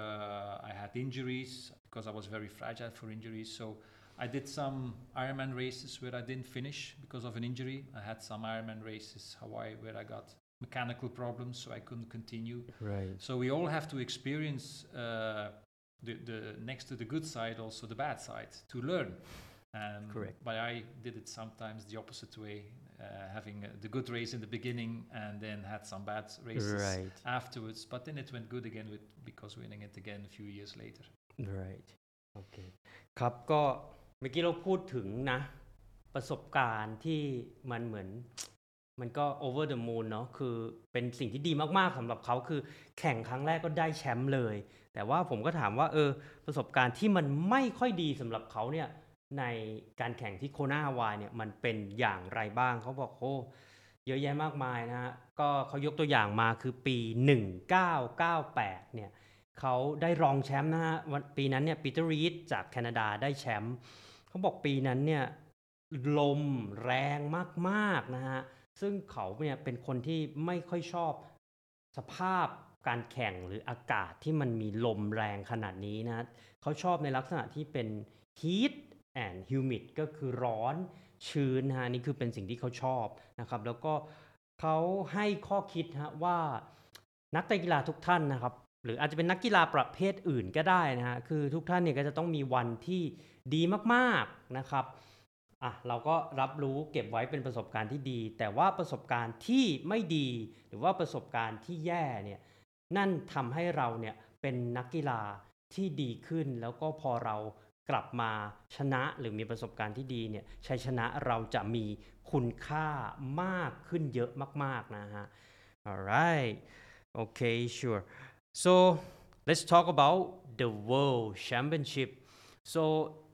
uh, I had injuries because I was very fragile for injuries. So I did some Ironman races where I didn't finish because of an injury. I had some Ironman races, Hawaii, where I got mechanical problems, so I couldn't continue. right So we all have to experience uh, the, the next to the good side, also the bad side to learn. Um, Correct. But I did it sometimes the opposite way, uh, having uh, the good race in the beginning and then had some bad races right afterwards. But then it went good again with because winning it again a few years later. right โอเคครับก็เมื่อกี้เราพูดถึงนะประสบการณ์ที่มันเหมือนมันก็ over the moon เนาะคือเป็นสิ่งที่ดีมากๆสำหรับเขาคือแข่งครั้งแรกก็ได้แชมป์เลยแต่ว่าผมก็ถามว่าเออประสบการณ์ที่มันไม่ค่อยดีสำหรับเขาเนี่ยในการแข่งที่โคนาฮาวายเนี่ยมันเป็นอย่างไรบ้างเขาบอกโอ้เยอะแยะมากมายนะฮะก็เขายกตัวอย่างมาคือปีหนึ่งเก้าเก้าแปดเนี่ยเขาได้รองแชมป์นะฮะวันปีนั้นเนี่ยปีเตอร์รีดจากแคนาดาได้แชมป์เขาบอกปีนั้นเนี่ยลมแรงมากๆนะฮะซึ่งเขาเนี่ยเป็นคนที่ไม่ค่อยชอบสภาพการแข่งหรืออากาศที่มันมีลมแรงขนาดนี้นะเขาชอบในลักษณะที่เป็น heat and humid ก็คือร้อนชื้นนะฮะนี่คือเป็นสิ่งที่เขาชอบนะครับแล้วก็เขาให้ข้อคิดฮะว่านักเตะกีฬาทุกท่านนะครับหรืออาจจะเป็นนักกีฬาประเภทอื่นก็ได้นะฮะคือทุกท่านเนี่ยก็จะต้องมีวันที่ดีมากๆนะครับอ่ะเราก็รับรู้เก็บไว้เป็นประสบการณ์ที่ดีแต่ว่าประสบการณ์ที่ไม่ดีหรือว่าประสบการณ์ที่แย่เนี่ยนั่นทำให้เราเนี่ยเป็นนักกีฬาที่ดีขึ้นแล้วก็พอเรากลับมาชนะหรือมีประสบการณ์ที่ดีเนี่ยชัยชนะเราจะมีคุณค่ามากขึ้นเยอะมากๆนะฮะ alright okay sure so let's talk about the World Championship so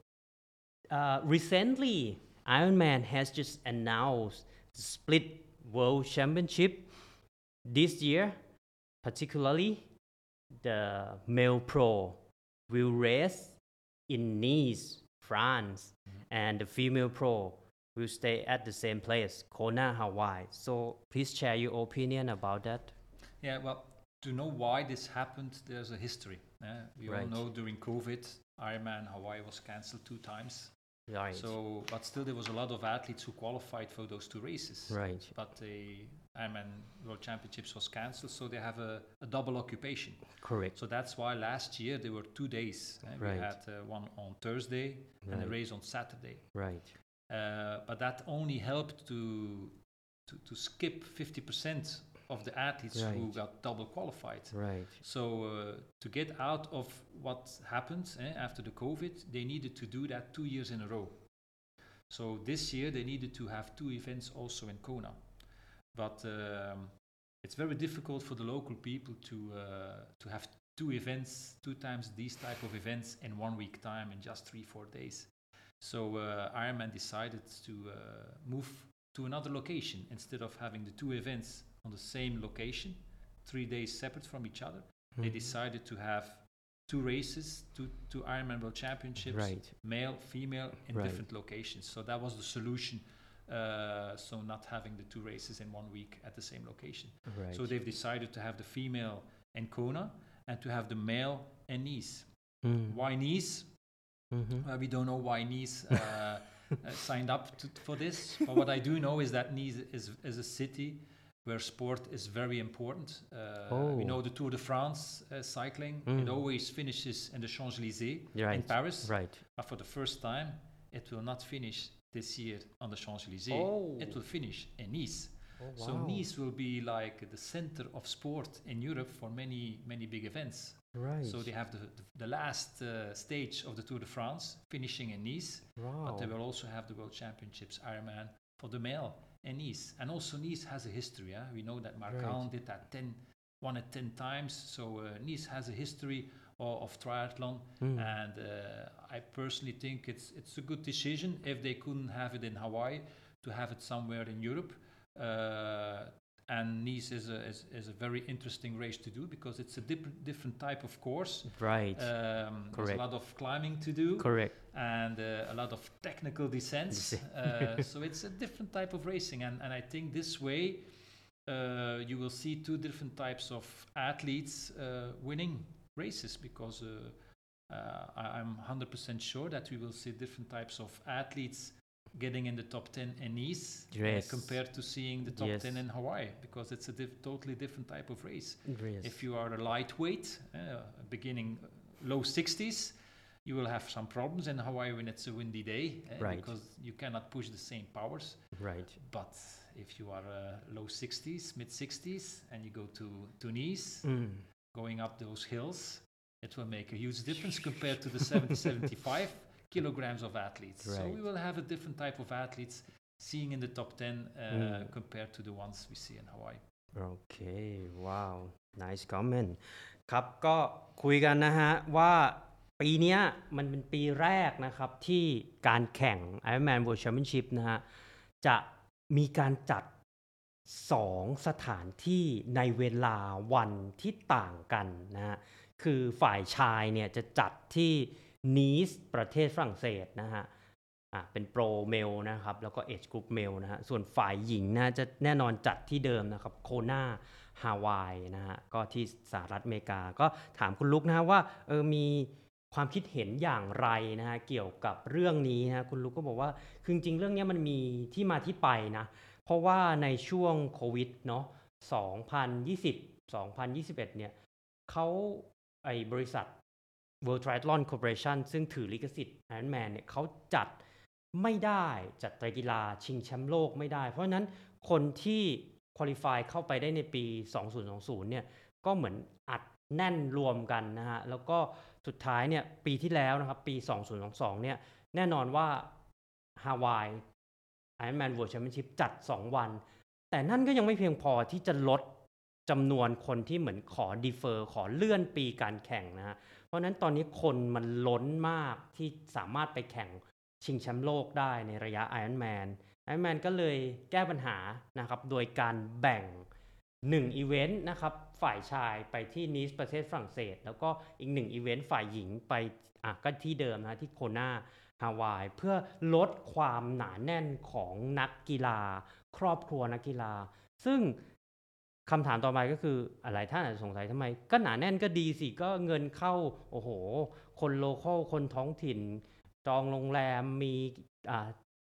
uh, recently Ironman has just announced the split World Championship this year particularly the male pro will race in Nice, France, and the female pro will stay at the same place, Kona, Hawaii. So please share your opinion about that. Yeah, well, to know why this happened, there's a history. Uh, we Right. all know during COVID, Ironman Hawaii was cancelled two times. Right. So, but still, there was a lot of athletes who qualified for those two races. right. But they Ironman World Championships was cancelled, so they have a, a double occupation. correct So that's why last year there were two days. eh, We Right. had uh, one on Thursday and a Right. race on Saturday. right Uh, but that only helped to to, to skip fifty percent of the athletes who Right. got double qualified. right So uh, to get out of what happened eh, after the COVID, they needed to do that two years in a row. So this year they needed to have two events also in Kona. But um, it's very difficult for the local people to uh, to have two events, two times these type of events in one week time in just three, four days. So uh, Ironman decided to uh, move to another location instead of having the two events on the same location, three days separate from each other. They Mhm. decided to have two races, two, two Ironman World Championships, right male, female, in Right. different locations. So that was the solution. Uh, so not having the two races in one week at the same location. right So they've decided to have the female in Kona and to have the male in Nice. Mm. Why Nice? Mhm. Uh, we don't know why Nice uh, uh, signed up to, for this. But what I do know is that Nice is, is a city where sport is very important. Uh, Oh. We know the Tour de France uh, cycling. It Mm. always finishes in the Champs-Élysées in right Paris. right But for the first time, it will not finish this year on the Champs-Élysées. Oh. It will finish in Nice. oh, So wow. Nice will be like the center of sport in Europe for many, many big events. right So they have the, the, the last uh, stage of the Tour de France finishing in Nice, wow but they will also have the World Championships Ironman for the male in Nice. And also Nice has a history. Yeah? We know that Marcan Right. did that ten, won it ten times. So uh, Nice has a history of, of triathlon. Mm. And uh, I personally think it's it's a good decision if they couldn't have it in Hawaii to have it somewhere in Europe. Uh, and Nice is a, is, is a very interesting race to do because it's a different different type of course. right Um, there's a Correct. lot of climbing to do correct and uh, a lot of technical descents. uh, so it's a different type of racing, and, and I think this way uh, you will see two different types of athletes uh, winning races because uh, uh, I, I'm one hundred percent sure that we will see different types of athletes getting in the top ten in Nice uh, Yes. compared to seeing the top Yes. ten in Hawaii because it's a diff- totally different type of race. yes. If you are a lightweight, uh, beginning low sixties, you will have some problems in Hawaii when it's a windy day, uh, Right. because you cannot push the same powers. right But if you are uh, low sixties, mid sixties, and you go to, to Nice, mm. going up those hills, it will make a huge difference compared to the seventy, seventy-five kilograms of athletes. So we Right. will have a different type of athletes seeing in the top ten uh, Mm. compared to the ones we see in Hawaii. โอเค ว้าว nice comment ครับ ก็คุยกันนะฮะ ว่าปีเนี้ยมันเป็นปีแรกนะครับ ที่การแข่ง Ironman World Championship นะฮะ จะมีการจัดสองสถานที่ในเวลาวันที่ต่างกันนะฮะ คือฝ่ายชายเนี่ยจะจัดที่นีสประเทศฝรั่งเศสนะฮะ อ่ะเป็นโปรเมลนะครับ แล้วก็เอจกรุ๊ปเมลนะฮะ ส่วนฝ่ายหญิงนะจะแน่นอนจัดที่เดิมนะครับ โคนาฮาวายนะฮะ ก็ที่สหรัฐอเมริกา ก็ถามคุณลุกนะฮะว่าเออมีความคิดเห็นอย่างไรนะฮะ เกี่ยวกับเรื่องนี้นะ คุณลุกก็บอกว่าคือจริงๆเรื่องนี้มันมีที่มาที่ไปนะ เพราะว่าในช่วงโควิดเนาะสองพันยี่สิบ สองพันยี่สิบเอ็ดเนี่ยเขาไอบริษัท World Triathlon Corporation ซึ่งถือลิขสิทธิ์ Ironman เนี่ยเขาจัดไม่ได้จัดไตรกีฬาชิงแชมป์โลกไม่ได้ เพราะฉะนั้นคนที่ควอลิฟายเข้าไปได้ในปีสองพันยี่สิบเนี่ยก็เหมือนอัดแน่นรวมกันนะฮะ แล้วก็สุดท้ายเนี่ยปีที่แล้วนะครับปีสองพันยี่สิบสองเนี่ยแน่นอนว่าฮาวาย Ironman World Championship จัดสองวัน แต่นั่นก็ยังไม่เพียงพอที่จะลดจำนวนคนที่เหมือนขอดีเฟอร์ขอเลื่อนปีการแข่งนะฮะ เพราะฉะนั้นตอนนี้คนมันล้นมากที่สามารถไปแข่งชิงแชมป์โลกได้ในระยะ Ironman Ironman ก็เลยแก้ปัญหานะครับโดยการแบ่งหนึ่งอีเวนต์นะครับฝ่ายชายไปที่นีสประเทศฝรั่งเศส แล้วก็อีกหนึ่งอีเวนต์ฝ่ายหญิงไปอ่ะก็ที่เดิมนะที่โคนาฮาวายเพื่อลดความหนาแน่นของนักกีฬาครอบครัวนักกีฬา ซึ่งคำถามต่อไปก็คืออะไรท่านอาจจะสงสัยทำไมก็หนาแน่นก็ดีสิก็เงินเข้าโอ้โหคนโลคอลคนท้องถิ่นจองโรงแรมมีอ่า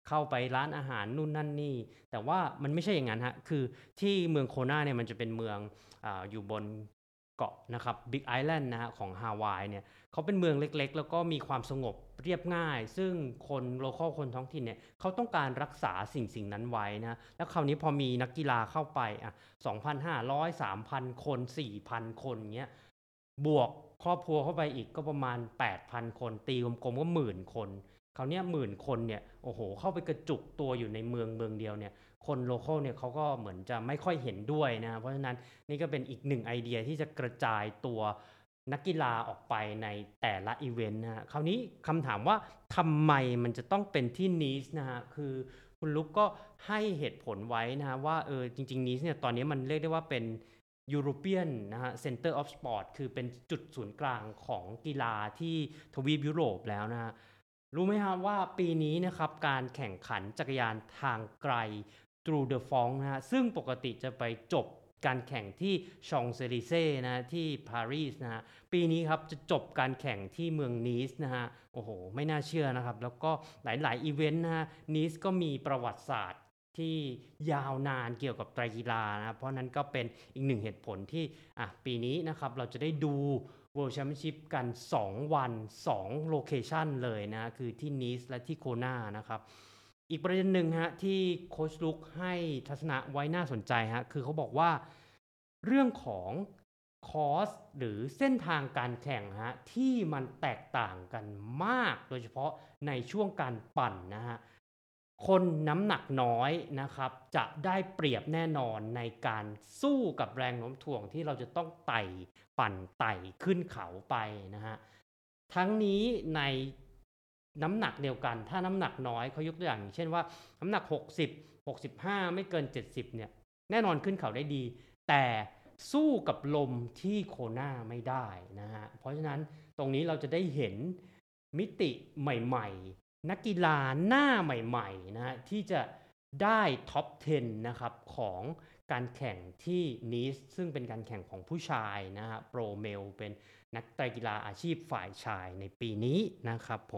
เข้าไปร้านอาหารนู่นนั่นนี่แต่ว่ามันไม่ใช่อย่างนั้นฮะคือที่เมืองโคนาเนี่ยมันจะเป็นเมืองอ่าอยู่บนเกาะนะครับบิ๊กไอแลนด์นะฮะของฮาวายเนี่ยเขาเป็นเมืองเล็กๆแล้วก็มีความสงบเรียบง่ายซึ่งคนโลคอลคนท้องถิ่นเนี่ยเขาต้องการรักษาสิ่งสิ่งนั้นไว้นะแล้วคราวนี้พอมีนักกีฬาเข้าไปอ่ะ สองพันห้าร้อย สามพัน คน สี่พัน คนเงี้ยบวกครอบครัวเข้าไปอีกก็ประมาณ แปดพัน คนตีกลมๆก็หมื่นคนคราวนี้หมื่นคนเนี่ยโอ้โหเข้าไปกระจุกตัวอยู่ในเมืองเมืองเดียวเนี่ยคนโลคอลเนี่ยเขาก็เหมือนจะไม่ค่อยเห็นด้วยนะเพราะฉะนั้นนี่ก็เป็นอีกหนึ่งไอเดียที่จะกระจายตัวนักกีฬาออกไปในแต่ละอีเวนต์นะฮะคราวนี้คำถามว่าทำไมมันจะต้องเป็นที่นีสนะฮะคือคุณลุกก็ให้เหตุผลไว้นะฮะว่าเออจริงๆนีสเนี่ยตอนนี้มันเรียกได้ว่าเป็น European นะฮะ Center of Sport คือเป็นจุดศูนย์กลางของกีฬาที่ทวีปยุโรปแล้วนะฮะรู้ไหมครับว่าปีนี้นะครับการแข่งขันจักรยานทางไกล Tour de France นะฮะซึ่งปกติจะไปจบการแข่งที่ชองเซลิเซ่นะที่ปารีสนะฮะปีนี้ครับจะจบการแข่งที่เมืองนีสนะฮะโอ้โหไม่น่าเชื่อนะครับแล้วก็หลายๆอีเวนต์นะฮะนีสก็มีประวัติศาสตร์ที่ยาวนานเกี่ยวกับไตรกีฬานะเพราะนั้นก็เป็นอีกหนึ่งเหตุผลที่อ่ะปีนี้นะครับเราจะได้ดู World Championship กันสองวันสองโลเคชันเลยนะคือที่นีสและที่โคนานะครับอีกประเด็นหนึ่งฮะที่โค้ชลุกให้ทัศนะไว้น่าสนใจฮะคือเขาบอกว่าเรื่องของคอร์สหรือเส้นทางการแข่งฮะที่มันแตกต่างกันมากโดยเฉพาะในช่วงการปั่นนะฮะคนน้ำหนักน้อยนะครับจะได้เปรียบแน่นอนในการสู้กับแรงโน้มถ่วงที่เราจะต้องไต่ปั่นไต่ขึ้นเขาไปนะฮะทั้งนี้ในน้ำหนักเดียวกันถ้าน้ำหนักน้อยเขายกตัวอย่างเช่นว่าน้ำหนักหกสิบ หกสิบห้าไม่เกินเจ็ดสิบเนี่ยแน่นอนขึ้นเขาได้ดีแต่สู้กับลมที่โคนาไม่ได้นะฮะเพราะฉะนั้นตรงนี้เราจะได้เห็นมิติใหม่ๆนักกีฬาหน้าใหม่ๆนะฮะที่จะได้ท็อปสิบนะครับของการแข่งที่นีสซึ่งเป็นการแข่งของผู้ชายนะฮะโปรเมลเป็นนักไตรกีฬาอาชีพฝ่ายชายในปีนี้นะครับผม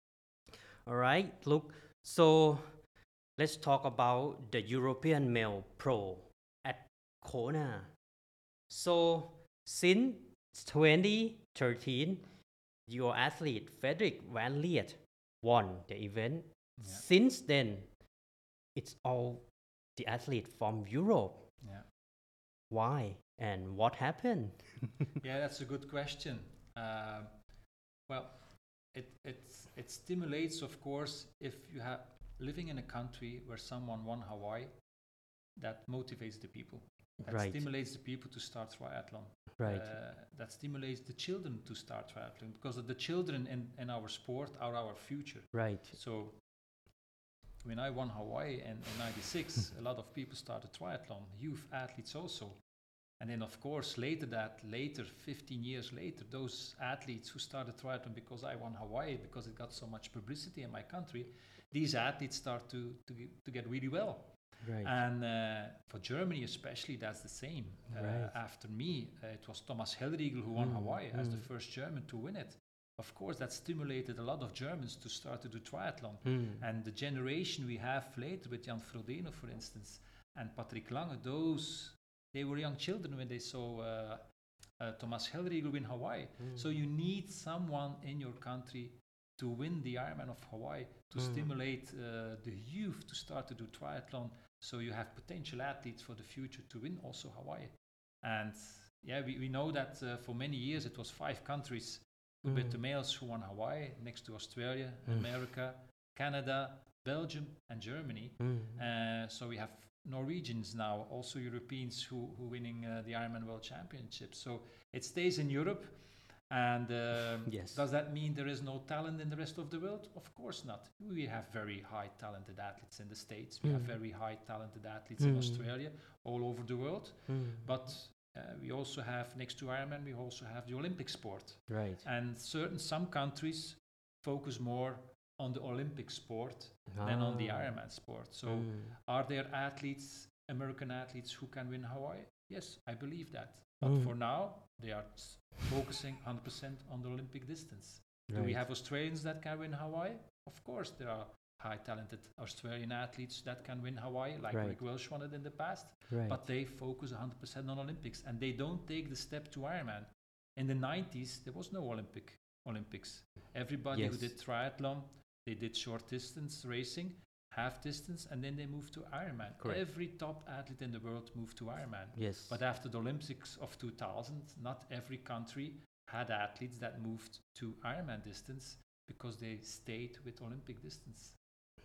alright look so let's talk about the European Male Pro at Kona. So, since twenty thirteen, your athlete Frederick Van Liet won the event. Yeah. Since then, it's all the athlete from Europe. Yeah. Why and what happened? Yeah, that's a good question. Uh, well, it it's, it stimulates, of course, if you have living in a country where someone won Hawaii, that motivates the people. That Right. stimulates the people to start triathlon. Right. Uh, that stimulates the children to start triathlon because of the children in, in our sport are our future. Right. So when I won Hawaii in, in ninety-six, a lot of people started triathlon, youth athletes also. And then of course later that, later, fifteen years later, those athletes who started triathlon because I won Hawaii, because it got so much publicity in my country, these athletes start to, to, to get really well. Right. And uh, for Germany especially, that's the same. Uh, Right. After me, uh, it was Thomas Hellriegel who won Mm, Hawaii as the mm. first German to win it. Of course, that stimulated a lot of Germans to start to do triathlon. Mm. And the generation we have later with Jan Frodeno, for instance, and Patrick Lange, those, they were young children when they saw uh, uh, Thomas Hellriegel win Hawaii. Mm. So you need someone in your country to win the Ironman of Hawaii, to Mm. stimulate uh, the youth to start to do triathlon. So you have potential athletes for the future to win also Hawaii. And yeah, we, we know that uh, for many years it was five countries Mm. with the males who won Hawaii, next to Australia, Mm. America, Canada, Belgium, and Germany. Mm. Uh, so we have Norwegians now, also Europeans who who winning uh, the Ironman World Championship. So it stays in Europe. And um, Yes. does that mean there is no talent in the rest of the world? Of course not. We have very high talented athletes in the States. We have Mm. very high talented athletes in Mm. Australia, all over the world. Mm. But uh, we also have, next to Ironman, we also have the Olympic sport. Right. And certain, some countries focus more on the Olympic sport than on the Ah. Ironman sport. So Mm. are there athletes, American athletes, who can win Hawaii? Yes, I believe that. But Mm. for now, they are s- focusing one hundred percent on the Olympic distance. Do we Right. have Australians that can win Hawaii? Of course, there are high talented Australian athletes that can win Hawaii, like Right. Rick Welsh won it in the past. Right. But they focus one hundred percent on Olympics, and they don't take the step to Ironman. In the nineties, there was no Olympic Olympics. Everybody who Yes. did triathlon, they did short distance racing, half distance, and then they moved to Ironman. Correct. Every top athlete in the world moved to Ironman. Yes. But after the Olympics of two thousand, not every country had athletes that moved to Ironman distance because they stayed with Olympic distance.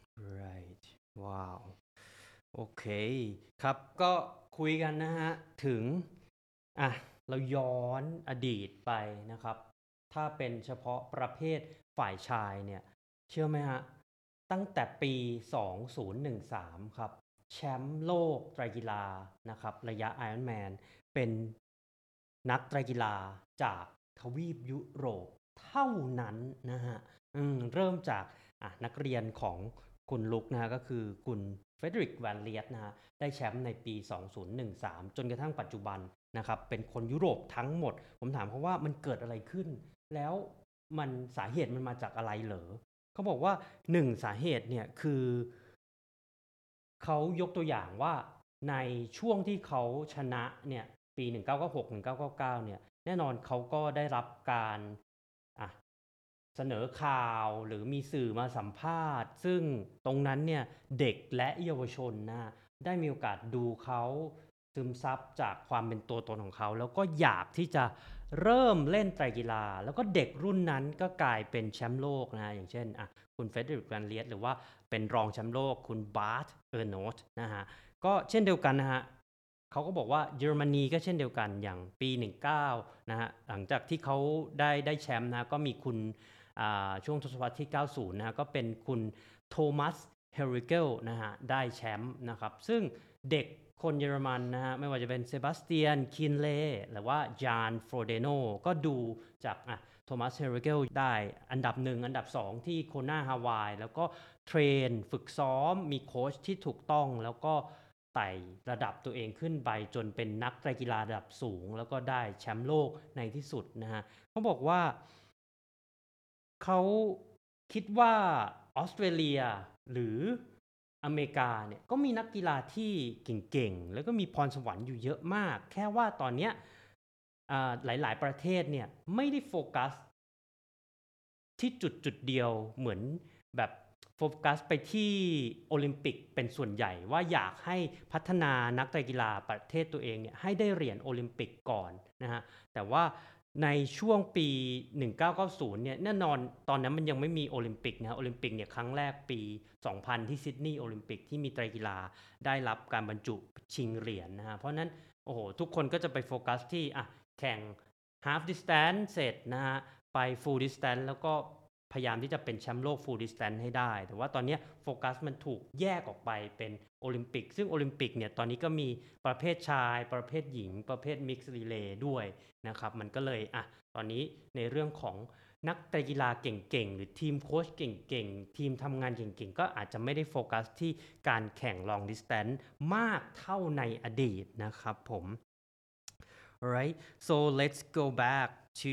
right ว้าว โอเค ครับ ก็คุยกันนะฮะ ถึง อ่ะ เราย้อนอดีตไปนะครับ ถ้าเป็นเฉพาะประเภทฝ่ายชายเนี่ย เชื่อไหมฮะ ตั้งแต่ปี สองพันสิบสาม ครับ แชมป์โลกไตรกีฬา นะครับ ระยะ Ironman เป็นนักไตรกีฬาจากทวีปยุโรปเท่านั้นนะฮะ อืม เริ่มจาก อ่ะ นักเรียนของคุณลุกนะฮะ ก็คือคุณเฟเดริก แวนเลียตนะฮะ ได้แชมป์ในปี สองพันสิบสาม จนกระทั่งปัจจุบันนะครับ เป็นคนยุโรปทั้งหมด ผมถามเขาว่ามันเกิดอะไรขึ้น แล้วมันสาเหตุมันมาจากอะไรเหรอ เขาบอกว่าหนึ่งสาเหตุเนี่ยคือ เขายกตัวอย่างว่าในช่วงที่เขาชนะเนี่ย ปี หนึ่งพันเก้าร้อยเก้าสิบหก หนึ่งพันเก้าร้อยเก้าสิบเก้า เนี่ย แน่นอนเขาก็ได้รับการ อ่ะ เสนอข่าวหรือมีสื่อมาสัมภาษณ์ ซึ่งตรงนั้นเนี่ย เด็กและเยาวชนนะฮะ ได้มีโอกาสดูเขาซึมซับจากความเป็นตัวตนของเขา แล้วก็อยากที่จะเริ่มเล่นไตรกีฬา แล้วก็เด็กรุ่นนั้นก็กลายเป็นแชมป์โลกนะฮะ อย่างเช่น อ่ะ คุณเฟเดริก แวนเลียต หรือว่าเป็นรองแชมป์โลกคุณบาร์ต เออร์โนตนะฮะ ก็เช่นเดียวกันนะฮะ เขาก็บอกว่าเยอรมนีก็เช่นเดียวกันอย่างปี หนึ่งพันเก้าร้อย นะฮะ หลังจากที่เขาได้ได้แชมป์นะก็มีคุณอ่าช่วงทศวรรษที่ เก้าสิบ นะฮะ ก็เป็นคุณโทมัส เฮริเกลนะฮะ ได้แชมป์นะครับ ซึ่งเด็กคนเยอรมันนะฮะ ไม่ว่าจะเป็นเซบาสเตียน คินเลหรือว่าจาน โฟรเดโน ก็ดูจากอ่ะโทมัส เฮริเกลได้อันดับหนึ่งอันดับสองที่โคนาฮาวาย แล้วก็เทรนฝึกซ้อมมีโค้ชที่ถูกต้อง แล้วก็ไต่ระดับตัวเองขึ้นไปจนเป็นนักไตรกีฬาระดับสูง แล้วก็ได้แชมป์โลกในที่สุดนะฮะ เขาบอกว่าเขาคิดว่าออสเตรเลียหรืออเมริกาเนี่ยก็มีนักกีฬาที่เก่งๆ แล้วก็มีพรสวรรค์อยู่เยอะมาก แค่ว่าตอนเนี้ยอ่าหลายๆประเทศเนี่ยไม่ได้โฟกัสที่จุดจุดเดียวเหมือนแบบโฟกัสไปที่โอลิมปิกเป็นส่วนใหญ่ว่าอยากให้พัฒนานักไตรกีฬาประเทศตัวเองเนี่ยให้ได้เหรียญโอลิมปิกก่อนนะฮะ แต่ว่าในช่วงปี หนึ่งพันเก้าร้อยเก้าสิบ เนี่ยแน่นอนตอนนั้นมันยังไม่มีโอลิมปิกนะโอลิมปิกเนี่ยครั้งแรกปี สองพัน ที่ซิดนีย์โอลิมปิกที่มีไตรกีฬาได้รับการบรรจุชิงเหรียญนะฮะ เพราะนั้นโอ้โหทุกคนก็จะไปโฟกัสที่อ่ะแข่ง half distance เสร็จนะฮะ ไป full distance แล้วก็พยายามที่จะเป็นแชมป์โลก full distance ให้ได้ แต่ว่าตอนนี้โฟกัสมันถูกแยกออกไปเป็นโอลิมปิก ซึ่งโอลิมปิกเนี่ยตอนนี้ก็มีประเภทชายประเภทหญิงประเภท mixed relay ด้วยนะครับ มันก็เลยอ่ะตอนนี้ในเรื่องของนักไตรกีฬาเก่งๆหรือทีมโค้ชเก่งๆทีมทำงานเก่งๆก็อาจจะไม่ได้โฟกัสที่การแข่ง long distance มากเท่าในอดีตนะครับผม alright so let's go back to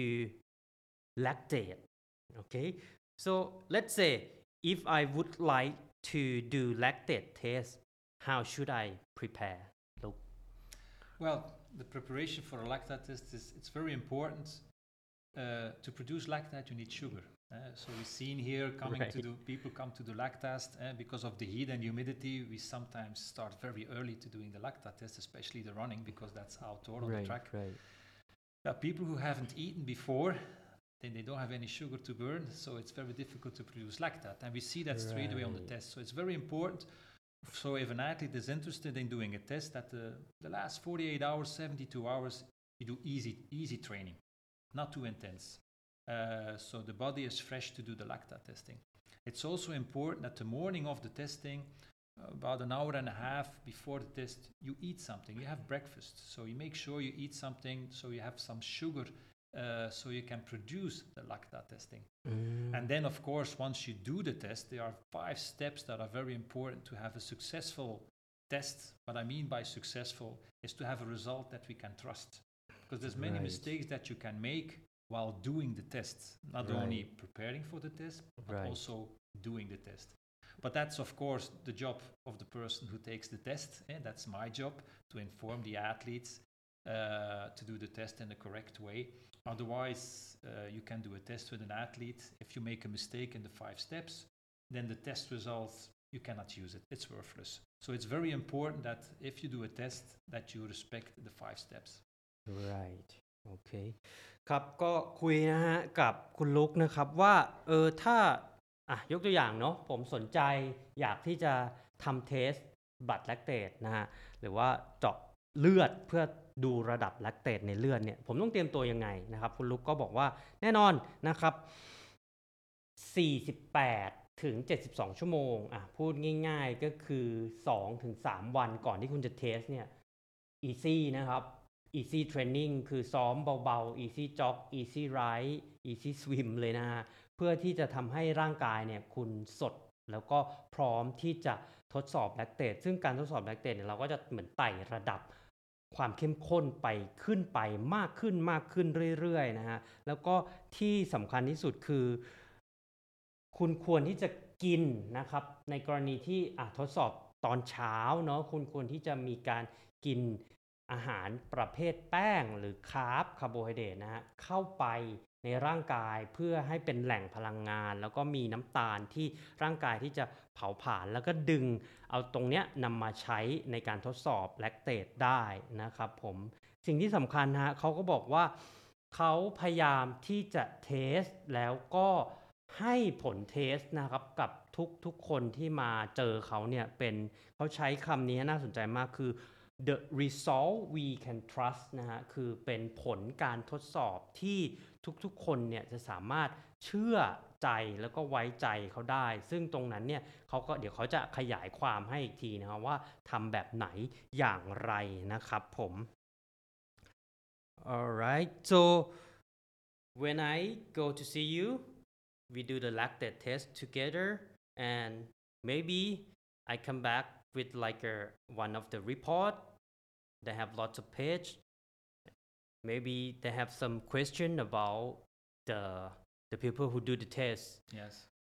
lactate okay so let's say if I would like to do lactate test how should I prepare Luke? Well, the preparation for a lactate test is it's very important. Uh, to produce lactate, you need sugar. Uh, so we've seen here coming Right. to do people come to do lactate uh, because of the heat and humidity. We sometimes start very early to doing the lactate test, especially the running because that's outdoor on right the track. right There are people who haven't eaten before, then they don't have any sugar to burn, so it's very difficult to produce lactate. And we see that straight away on the Right. test. So it's very important. So if an athlete is interested in doing a test, that the, the last forty-eight hours, seventy-two hours, you do easy, easy training, not too intense. Uh, so the body is fresh to do the lactate testing. It's also important that the morning of the testing, about an hour and a half before the test, you eat something. You have breakfast. So you make sure you eat something so you have some sugar uh, so you can produce the lactate testing. Mm. And then, of course, once you do the test, there are five steps that are very important to have a successful test. What I mean by successful is to have a result that we can trust. Because there's many Right. mistakes that you can make while doing the test, not Right. only preparing for the test, but Right. also doing the test. But that's of course the job of the person who takes the test. Eh? That's my job to inform the athletes uh, to do the test in the correct way. Otherwise, uh, you can do a test with an athlete. If you make a mistake in the five steps, then the test results, you cannot use it. It's worthless. So it's very important that if you do a test, that you respect the five steps. right โอเคครับก็คุยนะฮะกับคุณลุกนะครับว่าเออถ้าอ่ะยกตัวอย่างเนาะผมสนใจอยากที่จะทำเทสบัตรแลคเตตนะฮะหรือว่าเจาะเลือดเพื่อดูระดับแลคเตตในเลือดเนี่ยผมต้องเตรียมตัวยังไงนะครับคุณลุกก็บอกว่าแน่นอนนะครับสี่สิบแปดถึงเจ็ดสิบสองชั่วโมงอ่ะพูดง่ายๆก็คือ สองถึงสาม วันก่อนที่คุณจะเทสเนี่ย easy นะครับ easy training คือซ้อมเบาๆ easy jog easy ride easy swim เลยนะฮะเพื่อที่จะทำให้ร่างกายเนี่ยคุณสดแล้วก็พร้อมที่จะทดสอบแลคเตตซึ่งการทดสอบแลคเตตเนี่ยเราก็จะเหมือนไต่ระดับความเข้มข้นไปขึ้นไปมากขึ้นมากขึ้นเรื่อยๆนะฮะแล้วก็ที่สำคัญที่สุดคือคุณควรที่จะกินนะครับในกรณีที่อ่ะทดสอบตอนเช้าเนาะคุณควรที่จะมีการกินอาหารประเภทแป้งหรือคาร์บคาร์โบไฮเดรตนะฮะเข้าไปในร่างกายเพื่อให้เป็นแหล่งพลังงานแล้วก็มีน้ำตาลที่ร่างกายที่จะเผาผลาญแล้วก็ดึงเอาตรงเนี้ยนำมาใช้ในการทดสอบแลคเตตได้นะครับผมสิ่งที่สำคัญฮะเขาก็บอกว่าเขาพยายามที่จะเทสแล้วก็ให้ผลเทสนะครับกับทุกทุกคนที่มาเจอเขาเนี่ยเป็นเขาใช้คำนี้น่าสนใจมากคือ the result we can trust นะฮะคือเป็นผลการทดสอบที่ทุกๆคนเนี่ยจะสามารถเชื่อใจแล้วก็ไว้ใจเขาได้ซึ่งตรงนั้นเนี่ยเขาก็เดี๋ยวเขาจะขยายความให้อีกทีนะครับว่าทำแบบไหนอย่างไรนะครับผม alright so when I go to see you we do the lactate test together and maybe I come back with like a one of the report that have lots of page maybe they have some question about the the people who do the test Yes.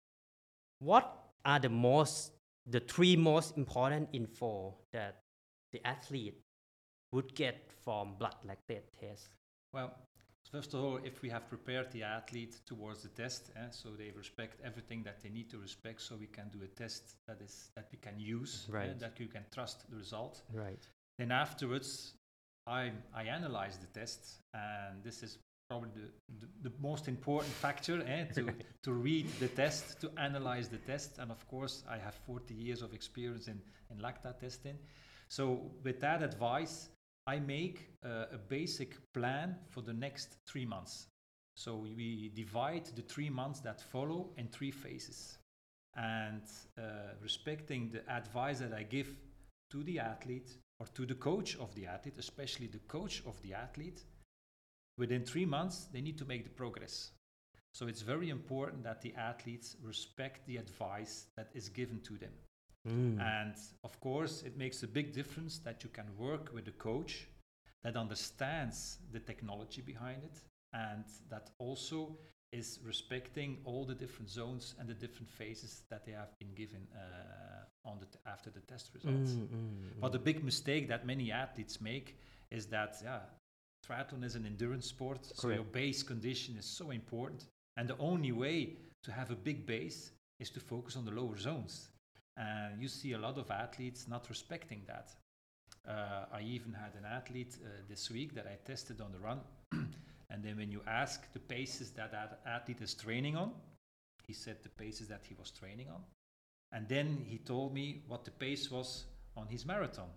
what are the most the three most important info that the athlete would get from blood lactate test Well, first of all, if we have prepared the athlete towards the test, eh, so they respect everything that they need to respect, so we can do a test that is that we can use, Right. eh, that you can trust the result. right Then afterwards, I I analyze the test, and this is probably the, the, the most important factor eh, to to read the test, to analyze the test, and of course, I have forty years of experience in in lactate testing. So with that advice, I make uh, a basic plan for the next three months. So we divide the three months that follow in three phases. And uh, respecting the advice that I give to the athlete or to the coach of the athlete, especially the coach of the athlete, within three months, they need to make the progress. So it's very important that the athletes respect the advice that is given to them. mm. And of course, it makes a big difference that you can work with a coach that understands the technology behind it and that also is respecting all the different zones and the different phases that they have been given uh, on the t- after the test results. Mm, mm, mm. But the big mistake that many athletes make is that yeah, triathlon is an endurance sport, so Correct. your base condition is so important, and the only way to have a big base is to focus on the lower zones. And you see a lot of athletes not respecting that. Uh, I even had an athlete uh, this week that I tested on the run, and then when you ask the paces that that athlete is training on, he said the paces that he was training on, and then he told me what the pace was on his marathon.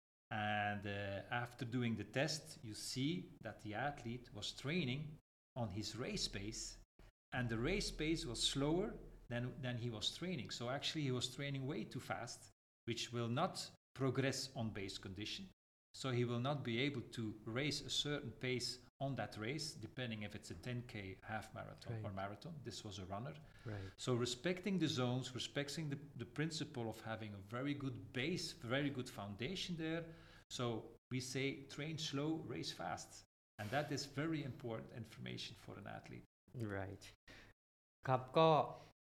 And uh, after doing the test, you see that the athlete was training on his race pace, and the race pace was slower than, than he was training. So actually he was training way too fast, which will not progress on base condition. So he will not be able to race a certain pace on that race, depending if it's a ten K half marathon Right. or marathon. This was a runner. right So respecting the zones, respecting the, the principle of having a very good base, very good foundation there. So we say train slow, race fast. And that is very important information for an athlete. right ครับก็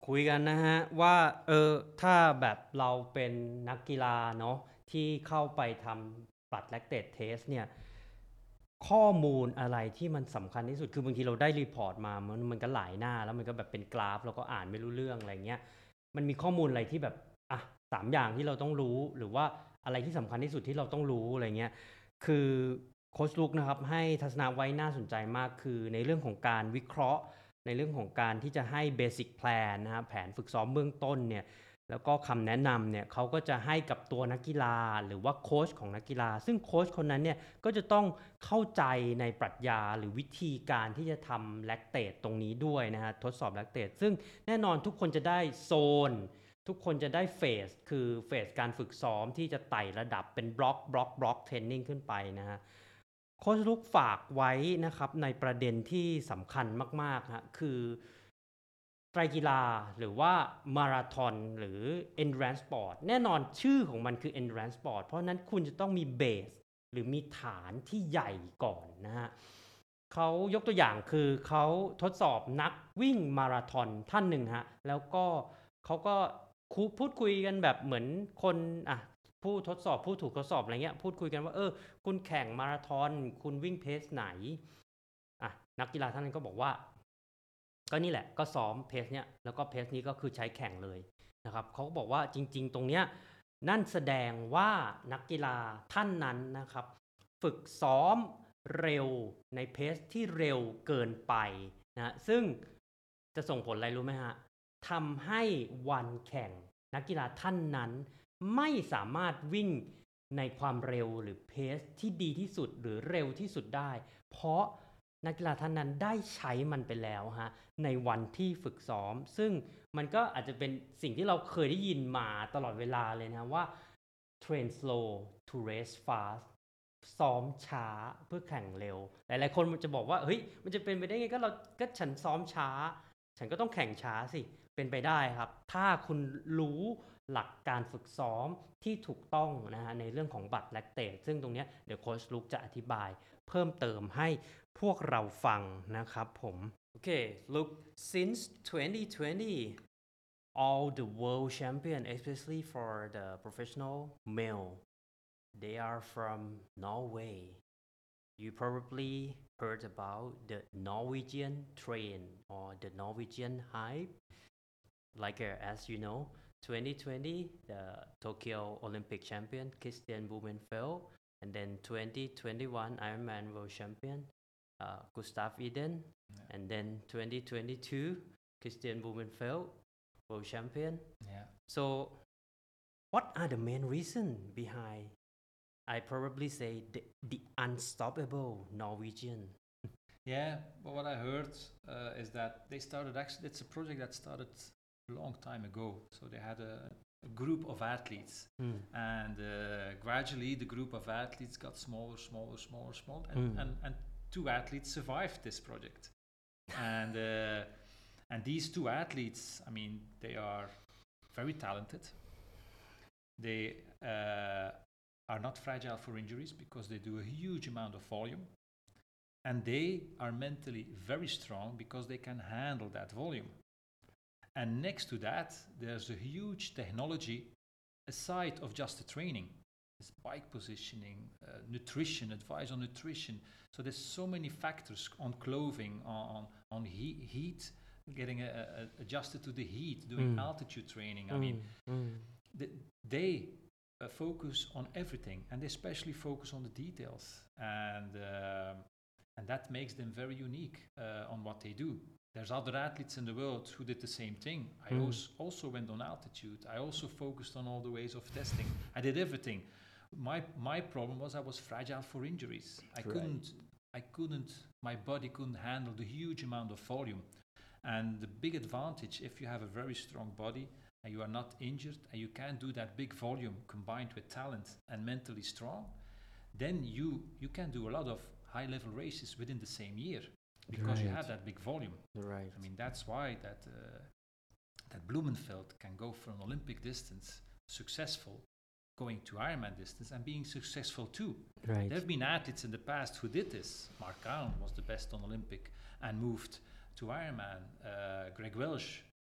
คุยกันนะฮะว่าเออถ้าแบบเราเป็นนักกีฬาเนาะที่เข้าไปทำ blood lactate test เนี่ยข้อมูลอะไรที่มันสำคัญที่สุดคือบางทีเราได้รีพอร์ตมามันมันก็หลายหน้าแล้วมันก็แบบเป็นกราฟแล้วก็อ่านไม่รู้เรื่องอะไรเงี้ยมันมีข้อมูลอะไรที่แบบอ่ะสามอย่างที่เราต้องรู้หรือว่าอะไรที่สำคัญที่สุดที่เราต้องรู้อะไรเงี้ยคือโค้ชลุกนะครับให้ทัศนะไว้น่าสนใจมากคือในเรื่องของการวิเคราะห์ในเรื่องของการที่จะให้เบสิกแพลนนะครับแผนฝึกซ้อมเบื้องต้นเนี่ยแล้วก็คำแนะนำเนี่ยเขาก็จะให้กับตัวนักกีฬาหรือว่าโค้ชของนักกีฬาซึ่งโค้ชคนนั้นเนี่ยก็จะต้องเข้าใจในปรัชญาหรือวิธีการที่จะทำแลคเตตตรงนี้ด้วยนะฮะทดสอบแลคเตตซึ่งแน่นอนทุกคนจะได้โซนทุกคนจะได้เฟสคือเฟสการฝึกซ้อมที่จะไต่ระดับเป็นบล็อกบล็อกบล็อกเทรนนิ่งขึ้นไปนะฮะโค้ชลุกฝากไว้นะครับในประเด็นที่สำคัญมากๆฮะคือไตรกีฬาหรือว่ามาราธอนหรือ endurance sport แน่นอนชื่อของมันคือ endurance sport เพราะนั้นคุณจะต้องมีเบสหรือมีฐานที่ใหญ่ก่อนนะฮะเขายกตัวอย่างคือเขาทดสอบนักวิ่งมาราธอนท่านหนึ่งฮะแล้วก็เขาก็คุพูดคุยกันแบบเหมือนคนอ่ะผู้ทดสอบผู้ถูกทดสอบอะไรเงี้ยพูดคุยกันว่าเออคุณแข่งมาราธอนคุณวิ่งเพสไหนอ่ะนักกีฬาท่านนั้นก็บอกว่าก็นี่แหละก็ซ้อมเพสเนี้ยแล้วก็เพสนี้ก็คือใช้แข่งเลยนะครับเขาก็บอกว่าจริงๆตรงเนี้ยนั่นแสดงว่านักกีฬาท่านนั้นนะครับฝึกซ้อมเร็วในเพสที่เร็วเกินไปนะซึ่งจะส่งผลอะไรรู้ไหมฮะทำให้วันแข่งนักกีฬาท่านนั้นไม่สามารถวิ่งในความเร็วหรือเพสที่ดีที่สุดหรือเร็วที่สุดได้เพราะนักกีฬาท่านนั้นได้ใช้มันไปแล้วฮะในวันที่ฝึกซ้อมซึ่งมันก็อาจจะเป็นสิ่งที่เราเคยได้ยินมาตลอดเวลาเลยนะว่า train slow to race fast ซ้อมช้าเพื่อแข่งเร็วหลายๆคนมันจะบอกว่าเฮ้ยมันจะเป็นไปได้ไงก็เราก็ฉันซ้อมช้าฉันก็ต้องแข่งช้าสิเป็นไปได้ครับถ้าคุณรู้หลักการฝึกซ้อมที่ถูกต้องนะฮะในเรื่องของบัตรแลคเตตซึ่งตรงนี้เดี๋ยวโค้ชลุกจะอธิบายเพิ่มเติมให้พวกเราฟังนะครับผมโอเค look since twenty twenty all the world champion especially for the professional male they are from Norway you probably heard about the Norwegian train or the Norwegian hype like uh, as you know twenty twenty the Tokyo Olympic champion Christian Blumenfeld and then twenty twenty-one Ironman world champion uh, Gustav Iden yeah. and then twenty twenty-two Christian Blumenfeld world champion yeah so what are the main reasons behind I probably say the, the unstoppable Norwegian yeah but what I heard uh, is that they started actually it's a project that started a long time ago so they had a, a group of athletes mm. and uh, gradually the group of athletes got smaller smaller smaller smaller and, mm. and, and two athletes survived this project and uh, and these two athletes I mean they are very talented they uh, are not fragile for injuries because they do a huge amount of volume and they are mentally very strong because they can handle that volume. And next to that, there's a huge technology aside of just the training. There's bike positioning, uh, nutrition, advice on nutrition. So there's so many factors on clothing, on, on heat, heat getting a, a adjusted to the heat, doing mm. altitude training. I mm. mean, mm. The, they uh, focus on everything and they especially focus on the details. And uh, and that makes them very unique uh, on what they do. There's other athletes in the world who did the same thing. I mm. also, also went on altitude. I also focused on all the ways of testing. I did everything. My my problem was I was fragile for injuries. I right. couldn't I couldn't my body couldn't handle the huge amount of volume. And the big advantage if you have a very strong body and you are not injured and you can do that big volume combined with talent and mentally strong, then you you can do a lot of high level races within the same year because right. you have that big volume. Right. I mean that's why that uh, that Blumenfeld can go for an Olympic distance successful, going to Ironman distance and being successful too. Right. There have been athletes in the past who did this. Mark Allen was the best on Olympic and moved to Ironman. Uh, Greg Welsh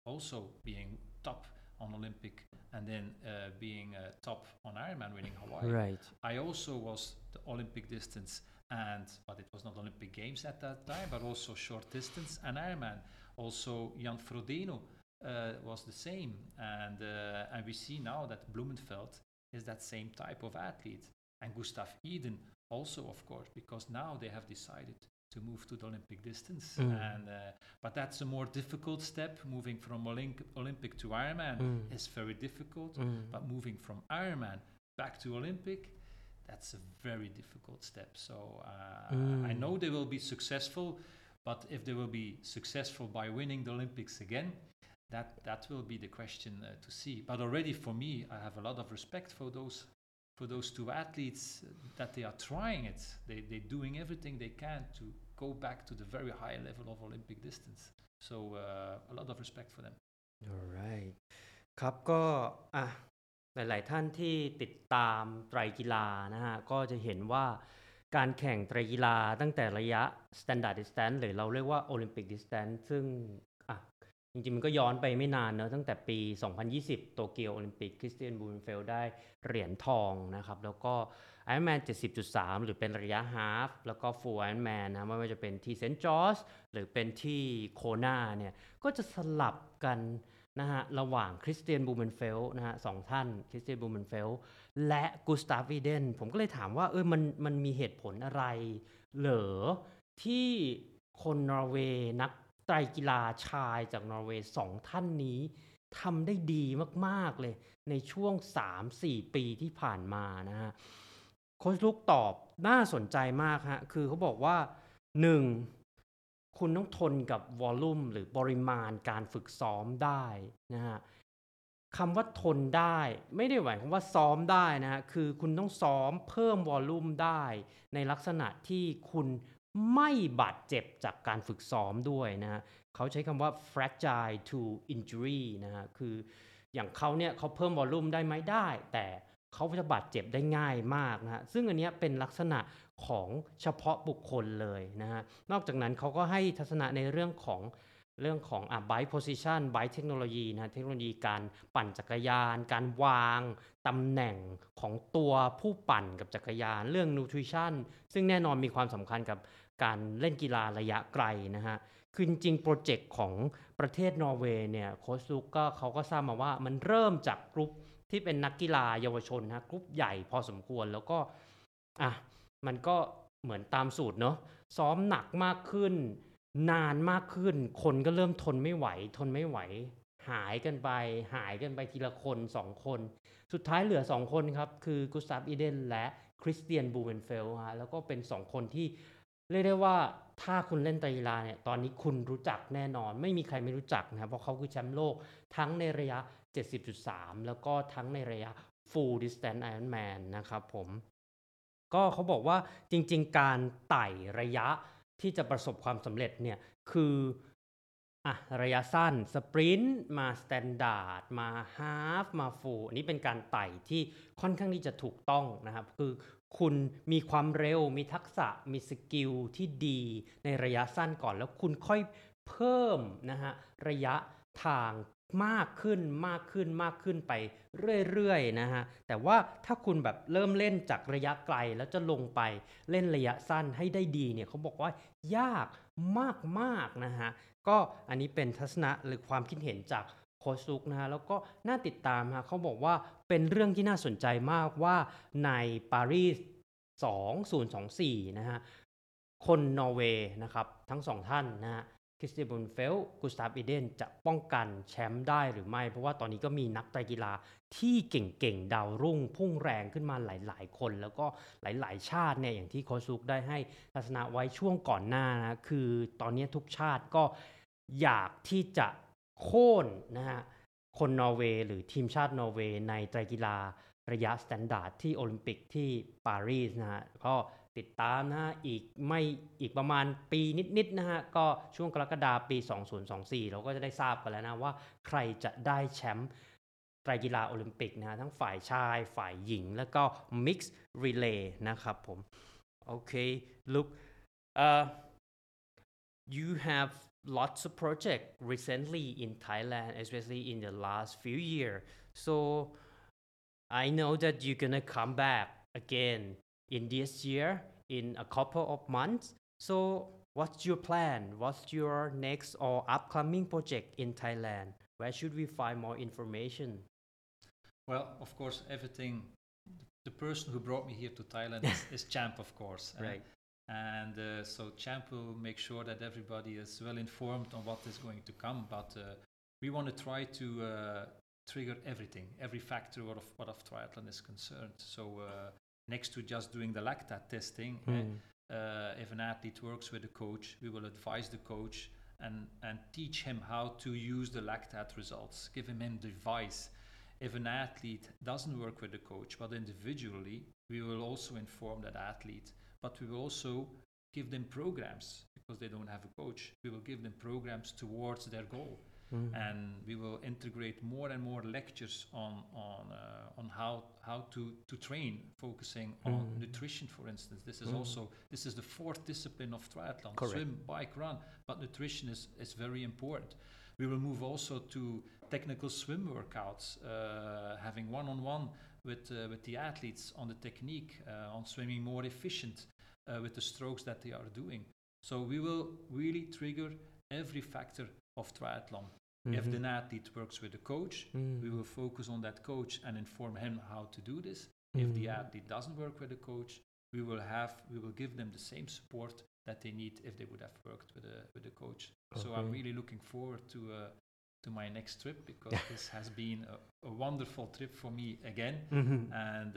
also being top on Olympic and then uh, being uh, top on Ironman, winning Hawaii. Right. I also was the Olympic distance and, but it was not Olympic Games at that time, but also short distance and Ironman. Also Jan Frodeno uh, was the same, and uh, and we see now that Blumenfeld is that same type of athlete, and Gustav Iden also, of course, because now they have decided to move to the Olympic distance, Mm. and uh, but that's a more difficult step. Moving from Olymp- Olympic to Ironman Mm. is very difficult, Mm. but moving from Ironman back to Olympic, that's a very difficult step. So uh, Mm. I know they will be successful, but if they will be successful by winning the Olympics again, that that will be the question uh, to see. But already for me, I have a lot of respect for those for those two athletes uh, that they are trying it. They they're doing everything they can to go back to the very high level of Olympic distance. So uh, a lot of respect for them. alright ครับก็อ่ะหลายๆท่านที่ติดตามไตรกีฬานะฮะก็จะเห็นว่าการแข่งไตรกีฬาตั้งแต่ระยะ Standard Distance หรือเราเรียกว่า Olympic Distance ซึ่งอ่ะจริงๆมันก็ย้อนไปไม่นานเนอะตั้งแต่ปี สองพันยี่สิบ โตเกียวโอลิมปิกคริสเตียนบูเนเฟลได้เหรียญทองนะครับแล้วก็ Ironman เจ็ดสิบจุดสาม หรือเป็นระยะฮาล์ฟแล้วก็ Full Ironman นะไม่ว่าจะเป็นที่เซนต์จอร์จหรือเป็นที่โคนาเนี่ยก็จะสลับกันนะฮะระหว่างคริสเตียนบูเมนเฟลนะฮะสองท่านคริสเตียนบูเมนเฟลและกูสตาฟวีเดนผมก็เลยถามว่าเออมันมันมีเหตุผลอะไรเหรอที่คนนอร์เวย์นักไตรกีฬาชายจากนอร์เวย์สองท่านนี้ทำได้ดีมากๆเลยในช่วง สามถึงสี่ ปีที่ผ่านมานะฮะโค้ชลูกตอบน่าสนใจมากฮะคือเขาบอกว่าหนึ่งคุณต้องทนกับวอลลุ่มหรือปริมาณการฝึกซ้อมได้นะฮะคำว่าทนได้ไม่ได้หมายความว่าซ้อมได้นะฮะคือคุณต้องซ้อมเพิ่มวอลลุ่มได้ในลักษณะที่คุณไม่บาดเจ็บจากการฝึกซ้อมด้วยนะฮะเขาใช้คำว่า fragile to injury นะฮะคืออย่างเขาเนี่ยเขาเพิ่มวอลลุ่มได้ไหมได้แต่เขาจะบาดเจ็บได้ง่ายมากนะฮะซึ่งอันนี้เป็นลักษณะของเฉพาะบุคคลเลยนะฮะนอกจากนั้นเขาก็ให้ทัศนะในเรื่องของเรื่องของอ่ะ bike position bike technology นะเทคโนโลยีการปั่นจักรยานการวางตำแหน่งของตัวผู้ปั่นกับจักรยานเรื่อง nutrition ซึ่งแน่นอนมีความสำคัญกับการเล่นกีฬาระยะไกลนะฮะคือจริงๆโปรเจกต์ของประเทศนอร์เวย์เนี่ยโค้ชลุกก็เขาก็ทราบมาว่ามันเริ่มจากกลุ่มที่เป็นนักกีฬาเยาวชนนะกลุ่มใหญ่พอสมควรแล้วก็อ่ะมันก็เหมือนตามสูตรเนาะซ้อมหนักมากขึ้นนานมากขึ้นคนก็เริ่มทนไม่ไหวทนไม่ไหวหายกันไปหายกันไปทีละคนสองคนสุดท้ายเหลือสองคนครับคือกุสตาฟอีเดนและคริสเตียนบูเวนเฟลฮะแล้วก็เป็นสองคนที่เรียกได้ว่าถ้าคุณเล่นไตรกีฬาเนี่ยตอนนี้คุณรู้จักแน่นอนไม่มีใครไม่รู้จักนะครับเพราะเขาคือแชมป์โลกทั้งในระยะ เจ็ดสิบจุดสาม แล้วก็ทั้งในระยะ Full Distance Ironman นะครับผมก็เขาบอกว่าจริงๆการไต่ระยะที่จะประสบความสำเร็จเนี่ยคืออ่ะระยะสั้นสปรินต์มาสแตนดาร์ดมาฮาล์ฟมาฟูลอันนี้เป็นการไต่ที่ค่อนข้างที่จะถูกต้องนะครับคือคุณมีความเร็วมีทักษะมีสกิลที่ดีในระยะสั้นก่อนแล้วคุณค่อยเพิ่มนะฮะระยะทางมากขึ้นมากขึ้นมากขึ้นไปเรื่อยๆนะฮะแต่ว่าถ้าคุณแบบเริ่มเล่นจากระยะไกลแล้วจะลงไปเล่นระยะสั้นให้ได้ดีเนี่ยเขาบอกว่ายากมากๆนะฮะก็อันนี้เป็นทัศนะหรือความคิดเห็นจากโค้ชซุกนะฮะแล้วก็น่าติดตามฮะเขาบอกว่าเป็นเรื่องที่น่าสนใจมากว่าในปารีสสองพันยี่สิบสี่นะฮะคนนอร์เวย์นะครับทั้งสองท่านนะฮะคริสเตียนบูนเฟลกุสตาฟอีเดนจะป้องกันแชมป์ได้หรือไม่เพราะว่าตอนนี้ก็มีนักไตรกีฬาที่เก่งๆดาวรุ่งพุ่งแรงขึ้นมาหลายๆคนแล้วก็หลายๆชาติเนี่ยอย่างที่โค้ชซุกได้ให้ทัศนะไว้ช่วงก่อนหน้านะคือตอนนี้ทุกชาติก็อยากที่จะโค่นนะฮะคนนอร์เวย์หรือทีมชาตินอร์เวย์ในไตรกีฬาระยะสแตนดาร์ดที่โอลิมปิกที่ปารีสนะฮะก็ติดตามนะฮะอีกไม่อีกประมาณปีนิดๆนะฮะก็ช่วงกรกฎาคมปีสองพันยี่สิบสี่เราก็จะได้ทราบกันแล้วนะว่าใครจะได้แชมป์ไตรกีฬาโอลิมปิกนะฮะทั้งฝ่ายชายฝ่ายหญิงแล้วก็ Mixed Relay นะครับผมโอเค look uh, you have lots of projects recently in Thailand, especially in the last few years. So I know that you're gonna come back again in this year in a couple of months. So what's your plan? What's your next or upcoming project in Thailand? Where should we find more information? Well, of course, everything. The person who brought me here to Thailand is, is Champ, of course. eh? Right. And uh, so Champ will make sure that everybody is well informed on what is going to come. But uh, we want to try to uh, trigger everything, every factor of what of triathlon is concerned. So uh, next to just doing the lactate testing, eh, Mm. uh, if an athlete works with a coach, we will advise the coach and, and teach him how to use the lactate results, give him him the advice. If an athlete doesn't work with the coach, but individually, we will also inform that athlete, but we will also give them programs because they don't have a coach. We will give them programs towards their goal. Mm. And we will integrate more and more lectures on on uh, on how how to to train, focusing on Mm. nutrition, for instance. This is Mm. also this is the fourth discipline of triathlon: Correct. swim, bike, run. But nutrition is is very important. We will move also to technical swim workouts, uh, having one-on-one with uh, with the athletes on the technique, uh, on swimming more efficient uh, with the strokes that they are doing. So we will really trigger every factor of triathlon. If Mhm. the athlete works with a coach, Mm. we will focus on that coach and inform him how to do this. If the Mm. athlete doesn't work with a coach, we will have we will give them the same support that they need if they would have worked with a with a coach. So I'm Okay. really looking forward to uh, to my next trip because this has been a, a wonderful trip for me again. Mhm. And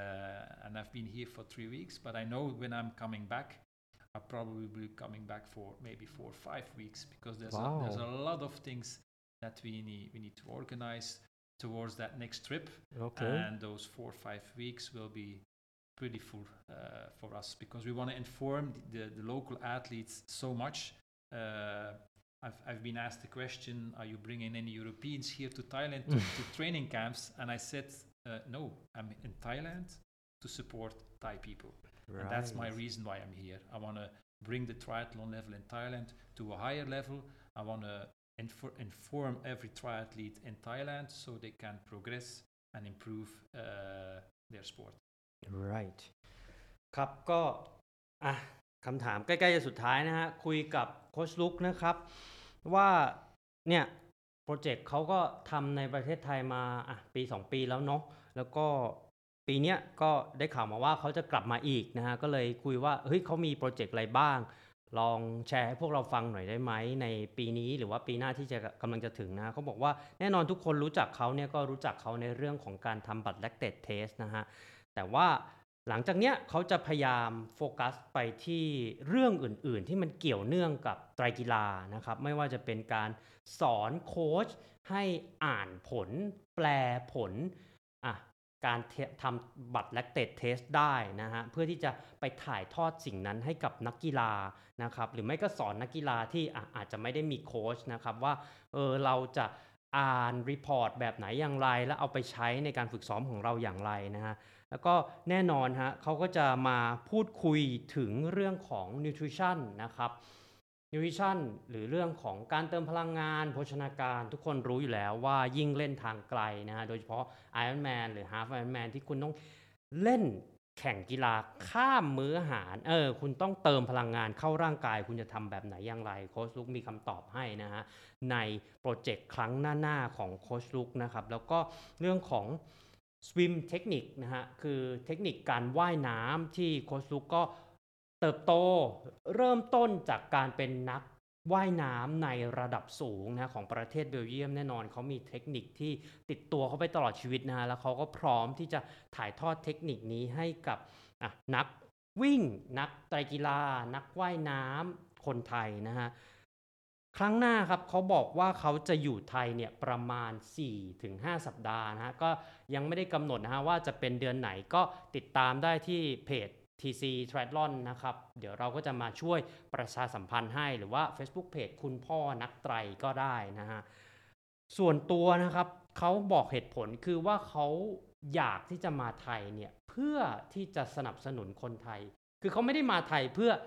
uh, and I've been here for three weeks, but I know when I'm coming back, I'll probably be coming back for maybe four or five weeks because there's a, there's a Wow. lot of things that we need we need to organize towards that next trip, Okay. and those four or five weeks will be pretty full uh, for us because we want to inform the, the, the local athletes so much. Uh, I've, I've been asked the question, are you bringing any Europeans here to Thailand to, to training camps? And I said, uh, no, I'm in Thailand to support Thai people. And that's my Right. reason why I'm here. I want to bring the triathlon level in Thailand to a higher level. I want to infor- inform every triathlete in Thailand so they can progress and improve uh, their sport. Right ครับก็อ่ะคำถามใกล้ๆจะสุดท้ายนะฮะคุยกับโค้ชลุกนะครับว่าเนี่ยโปรเจกต์เขาก็ทำในประเทศไทยมาอ่ะปีสองปีแล้วเนาะแล้วก็ปีเนี้ยก็ได้ข่าวมาว่าเขาจะกลับมาอีกนะฮะก็เลยคุยว่าเฮ้ยเขามีโปรเจกต์อะไรบ้างลองแชร์ให้พวกเราฟังหน่อยได้ไหมในปีนี้หรือว่าปีหน้าที่จะกำลังจะถึงนะเขาบอกว่าแน่นอนทุกคนรู้จักเขาเนี่ยก็รู้จักเขาในเรื่องของการทำบัตร lactate test นะฮะแต่ว่าหลังจากเนี้ยเขาจะพยายามโฟกัสไปที่เรื่องอื่นๆที่มันเกี่ยวเนื่องกับไตรกีฬานะครับไม่ว่าจะเป็นการสอนโค้ชให้อ่านผลแปลผลอ่ะการเททำบัตร lactate test ได้นะฮะเพื่อที่จะไปถ่ายทอดสิ่งนั้นให้กับนักกีฬานะครับหรือไม่ก็สอนนักกีฬาที่อ่ะอาจจะไม่ได้มีโค้ชนะครับว่าเออเราจะอ่านรีพอร์ตแบบไหนอย่างไรแล้วเอาไปใช้ในการฝึกซ้อมของเราอย่างไรนะฮะแล้วก็แน่นอนฮะเขาก็จะมาพูดคุยถึงเรื่องของ nutrition นะครับ nutrition หรือเรื่องของการเติมพลังงานโภชนาการทุกคนรู้อยู่แล้วว่ายิ่งเล่นทางไกลนะฮะโดยเฉพาะ Ironman หรือ Half Ironman ที่คุณต้องเล่นแข่งกีฬาข้ามมื้ออาหารเออคุณต้องเติมพลังงานเข้าร่างกายคุณจะทำแบบไหนอย่างไรโค้ชลุกมีคำตอบให้นะฮะในโปรเจกต์ครั้งหน้าๆของโค้ชลุกนะครับแล้วก็เรื่องของ swim เทคนิคนะฮะคือเทคนิคการว่ายน้ำที่โค้ชลุกก็เติบโตเริ่มต้นจากการเป็นนักว่ายน้ำในระดับสูงนะของประเทศเบลเยียมแน่นอนเขามีเทคนิคที่ติดตัวเขาไปตลอดชีวิตนะฮะแล้วเขาก็พร้อมที่จะถ่ายทอดเทคนิคนี้ให้กับอ่ะนักวิ่งนักไตรกีฬานักว่ายน้ำคนไทยนะฮะครั้งหน้าครับเขาบอกว่าเขาจะอยู่ไทยเนี่ยประมาณ สี่ถึงห้า สัปดาห์นะฮะก็ยังไม่ได้กำหนดนะฮะว่าจะเป็นเดือนไหนก็ติดตามได้ที่เพจ ที ซี Triathlon นะครับเดี๋ยวเราก็จะมาช่วยประชาสัมพันธ์ให้หรือว่า Facebook Page คุณพ่อนักไตรก็ได้นะฮะส่วนตัวนะครับเขาบอกเหตุผลคือว่าเขาอยากที่จะมาไทยเนี่ยเพื่อที่จะสนับสนุนคนไทยคือเขาไม่ได้มาไทยเพื่อ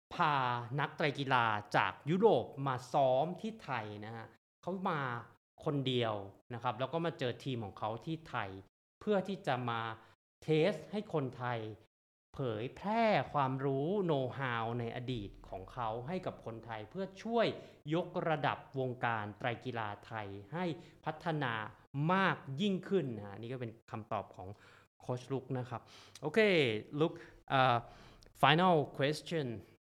พานักไตรกีฬาจากยุโรปมาซ้อมที่ไทยนะฮะเขามาคนเดียวนะครับแล้วก็มาเจอทีมของเขาที่ไทยเพื่อที่จะมาเทสให้คนไทยเผยแพร่ความรู้โน้ตฮาวในอดีตของเขาให้กับคนไทยเพื่อช่วยยกระดับวงการไตรกีฬาไทยให้พัฒนามากยิ่งขึ้นนะนี่ก็เป็นคำตอบของโค้ชลุกนะครับโอเคลุก uh, final question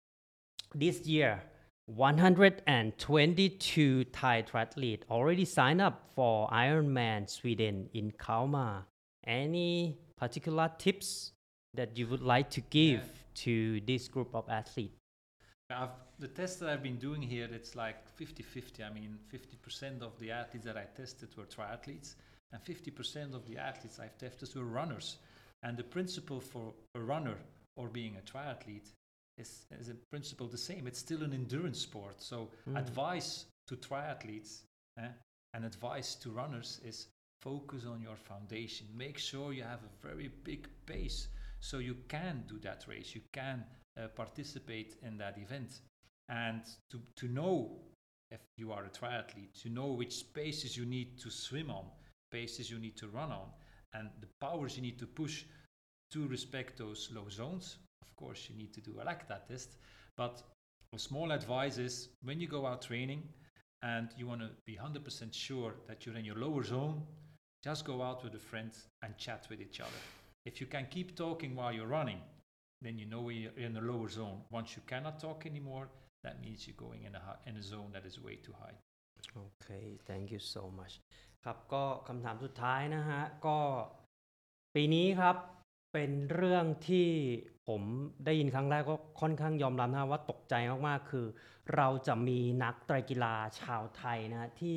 this year one hundred twenty-two Thai triathletes already signed up for Ironman Sweden in Kalmar. Any particular tips that you would like to give yeah. to this group of athletes? I've, the tests that I've been doing here, it's like fifty-fifty. I mean, fifty percent of the athletes that I tested were triathletes, and fifty percent of the athletes I've tested were runners. And the principle for a runner or being a triathlete is, is in principle the same. It's still an endurance sport. So mm. advice to triathletes eh, and advice to runners is focus on your foundation. Make sure you have a very big base so you can do that race. You can uh, participate in that event. And to, to know if you are a triathlete, to know which spaces you need to swim on, paces you need to run on, and the powers you need to push to respect those low zones. Of course, you need to do a lactate test, but a small advice is when you go out training and you want to be one hundred percent sure that you're in your lower zone, just go out with a friend and chat with each other. If you can keep talking while you're running, then you know you're in a lower zone. Once you cannot talk anymore, that means you're going in a, in a zone that is way too high. Okay, thank you so much. ครับก็คำถามสุดท้ายนะฮะก็ปีนี้ครับเป็นเรื่องที่ผมได้ยินครั้งแรกก็ค่อนข้างยอมรับนะว่าตกใจมากๆคือเราจะมีนักไตรกีฬาชาวไทยนะที่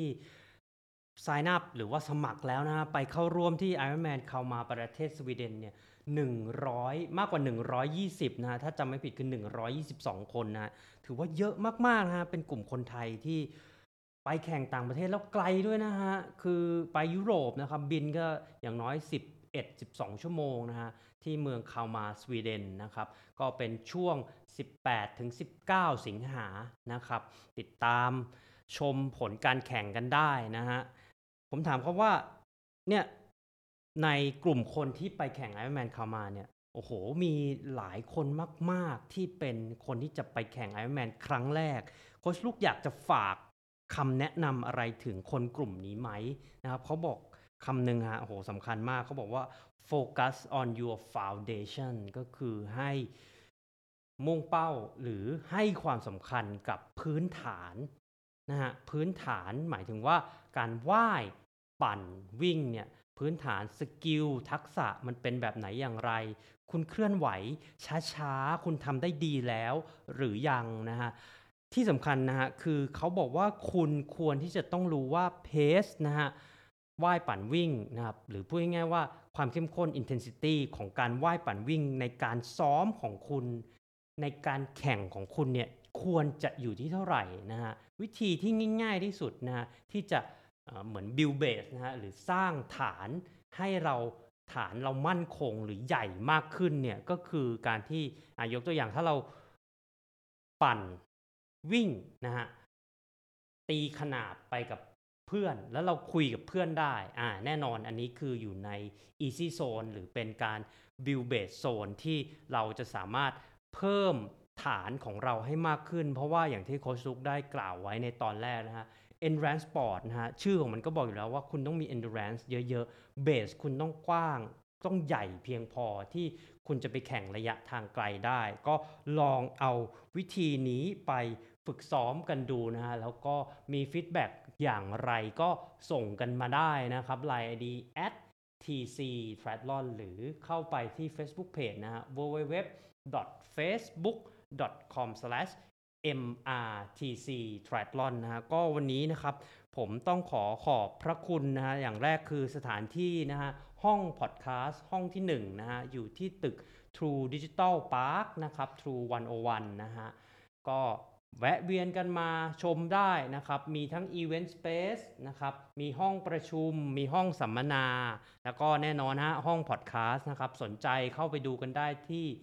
sign up หรือว่าสมัครแล้วนะไปเข้าร่วมที่ Ironman เข้ามาประเทศสวีเดนเนี่ยหนึ่งร้อยมากกว่าหนึ่งร้อยยี่สิบนะถ้าจำไม่ผิดคือหนึ่งร้อยยี่สิบสองคนนะถือว่าเยอะมากๆนะฮะเป็นกลุ่มคนไทยที่ไปแข่งต่างประเทศแล้วไกลด้วยนะฮะคือไปยุโรปนะครับบินก็อย่างน้อยสิบเอ็ด สิบสองชั่วโมงนะฮะที่เมืองคาลมาสวีเดนนะครับก็เป็นช่วงสิบแปดถึงสิบเก้าสิงหานะครับติดตามชมผลการแข่งกันได้นะฮะผมถามเขาว่าเนี่ยในกลุ่มคนที่ไปแข่ง Ironman คาลมาเนี่ยโอ้โหมีหลายคนมากๆที่เป็นคนที่จะไปแข่ง Ironman ครั้งแรกโค้ชลูกอยากจะฝากคำแนะนำอะไรถึงคนกลุ่มนี้ไหมนะครับเขาบอกคำหนึ่งฮะโอ้โหสำคัญมากเขาบอกว่า focus on your foundation ก็คือให้มุ่งเป้าหรือให้ความสำคัญกับพื้นฐานนะฮะพื้นฐานหมายถึงว่าการว่ายปั่นวิ่งเนี่ยพื้นฐานสกิลทักษะมันเป็นแบบไหนอย่างไรคุณเคลื่อนไหวช้าๆคุณทำได้ดีแล้วหรือยังนะฮะที่สำคัญนะฮะคือเขาบอกว่าคุณควรที่จะต้องรู้ว่าเพสนะฮะว่ายปั่นวิ่งนะครับหรือพูดง่ายๆว่าความเข้มข้น intensity ของการว่ายปั่นวิ่งในการซ้อมของคุณในการแข่งของคุณเนี่ยควรจะอยู่ที่เท่าไหร่นะฮะวิธีที่ง่ายๆที่สุดนะฮะที่จะเหมือน build base นะฮะหรือสร้างฐานให้เราฐานเรามั่นคงหรือใหญ่มากขึ้นเนี่ยก็คือการที่ยกตัวอย่างถ้าเราปั่นวิ่งนะฮะตีขนาบไปกับเพื่อนแล้วเราคุยกับเพื่อนได้อ่าแน่นอนอันนี้คืออยู่ใน easy zone หรือเป็นการ build base zone ที่เราจะสามารถเพิ่มฐานของเราให้มากขึ้นเพราะว่าอย่างที่โค้ชลุกได้กล่าวไว้ในตอนแรกนะฮะ endurance sport นะฮะชื่อของมันก็บอกอยู่แล้วว่าคุณต้องมี endurance เยอะๆ base คุณต้องกว้างต้องใหญ่เพียงพอที่คุณจะไปแข่งระยะทางไกลได้ก็ลองเอาวิธีนี้ไปฝึกซ้อมกันดูนะฮะแล้วก็มีฟีดแบ็กอย่างไรก็ส่งกันมาได้นะครับ ไลน์ ไอ ดี แอท ที ซี triathlon หรือเข้าไปที่ Facebook Page นะฮะ ดับเบิลยู ดับเบิลยู ดับเบิลยู ดอท เฟซบุ๊ก ดอท คอม สแลช เอ็ม อาร์ ที ซี triathlon นะฮะก็วันนี้นะครับผมต้องขอขอบพระคุณนะฮะอย่างแรกคือสถานที่นะฮะห้องพอดแคสต์ห้องที่หนึ่งนะฮะอยู่ที่ตึก True Digital Park นะครับ True หนึ่งศูนย์หนึ่งนะฮะก็แวะเวียนกันมาชมได้นะครับมีทั้ง Event Space นะครับมีห้องประชุมมีห้องสัมมนาแล้วก็แน่นอนฮะห้องพอดแคสต์นะครับสนใจเข้าไปดูกันได้ที่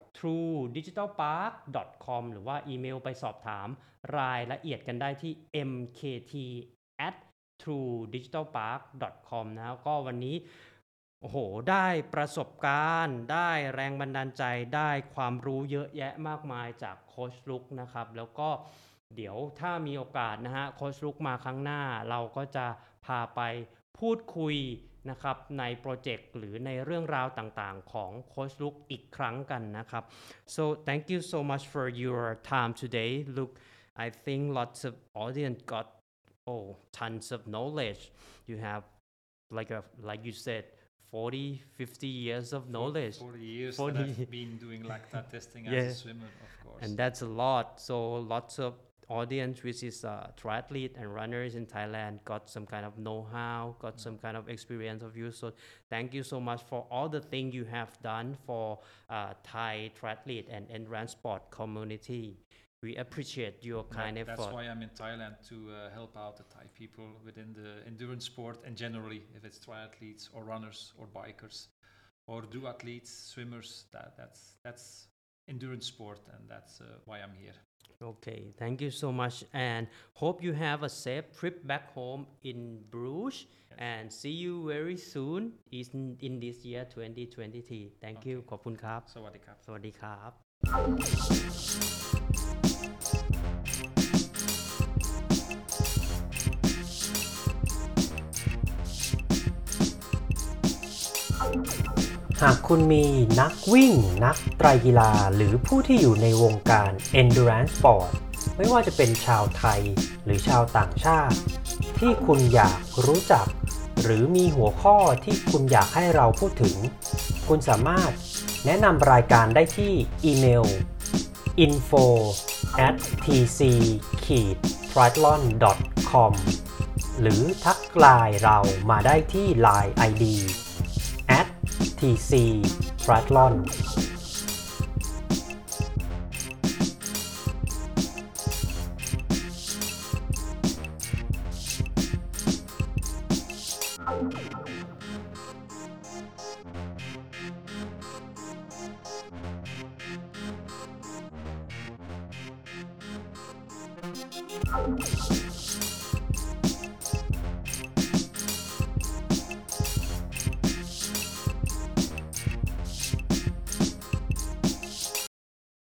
ทรูดิจิทัลพาร์ค ดอท คอม หรือว่าอีเมลไปสอบถามรายละเอียดกันได้ที่ เอ็ม เค ที แอท ทรูดิจิทัลพาร์ค ดอท คอม นะครับก็วันนี้โอ้โหได้ประสบการณ์ได้แรงบันดาลใจได้ความรู้เยอะแยะมากมายจากโค้ชลุกนะครับแล้วก็เดี๋ยวถ้ามีโอกาสนะฮะโค้ชลุกมาครั้งหน้าเราก็จะพาไปพูดคุยนะครับในโปรเจกต์หรือในเรื่องราวต่างๆของโค้ชลุกอีกครั้งกันนะครับ so thank you so much for your time today. Look, I think lots of audience got oh tons of knowledge. You have like a like you said forty fifty years of knowledge. forty years forty that I've been doing lactate testing Yeah. as a swimmer, of course. And that's a lot. So lots of audience, which is uh, triathlete and runners in Thailand, got some kind of know-how, got some kind of experience of you. So thank you so much for all the things you have done for uh, Thai triathlete and endurance sport community. We appreciate your That- kind that's effort. why I'm in Thailand to uh, help out the Thai people within the endurance sport and generally if it's triathletes or runners or bikers or duathletes, swimmers, that that's that's endurance sport and that's uh, why I'm here. Okay, thank you so much and hope you have a safe trip back home in Bruges and see you very soon in, in this year twenty twenty-three. Thank you. ขอบคุณครับสวัสดีครับสวัสดีครับหากคุณมีนักวิ่งนักไตรกีฬาหรือผู้ที่อยู่ในวงการ Endurance Sport ไม่ว่าจะเป็นชาวไทยหรือชาวต่างชาติ ที่คุณอยากรู้จัก หรือมีหัวข้อที่คุณอยากให้เราพูดถึง คุณสามารถแนะนำรายการได้ที่อีเมล อินโฟ แอท ที ซี ทริแอธลอน ดอท คอม หรือทักไลน์เรามาได้ที่ ไลน์ ไอ ดี แอท ที ซี Triathlon Thank you.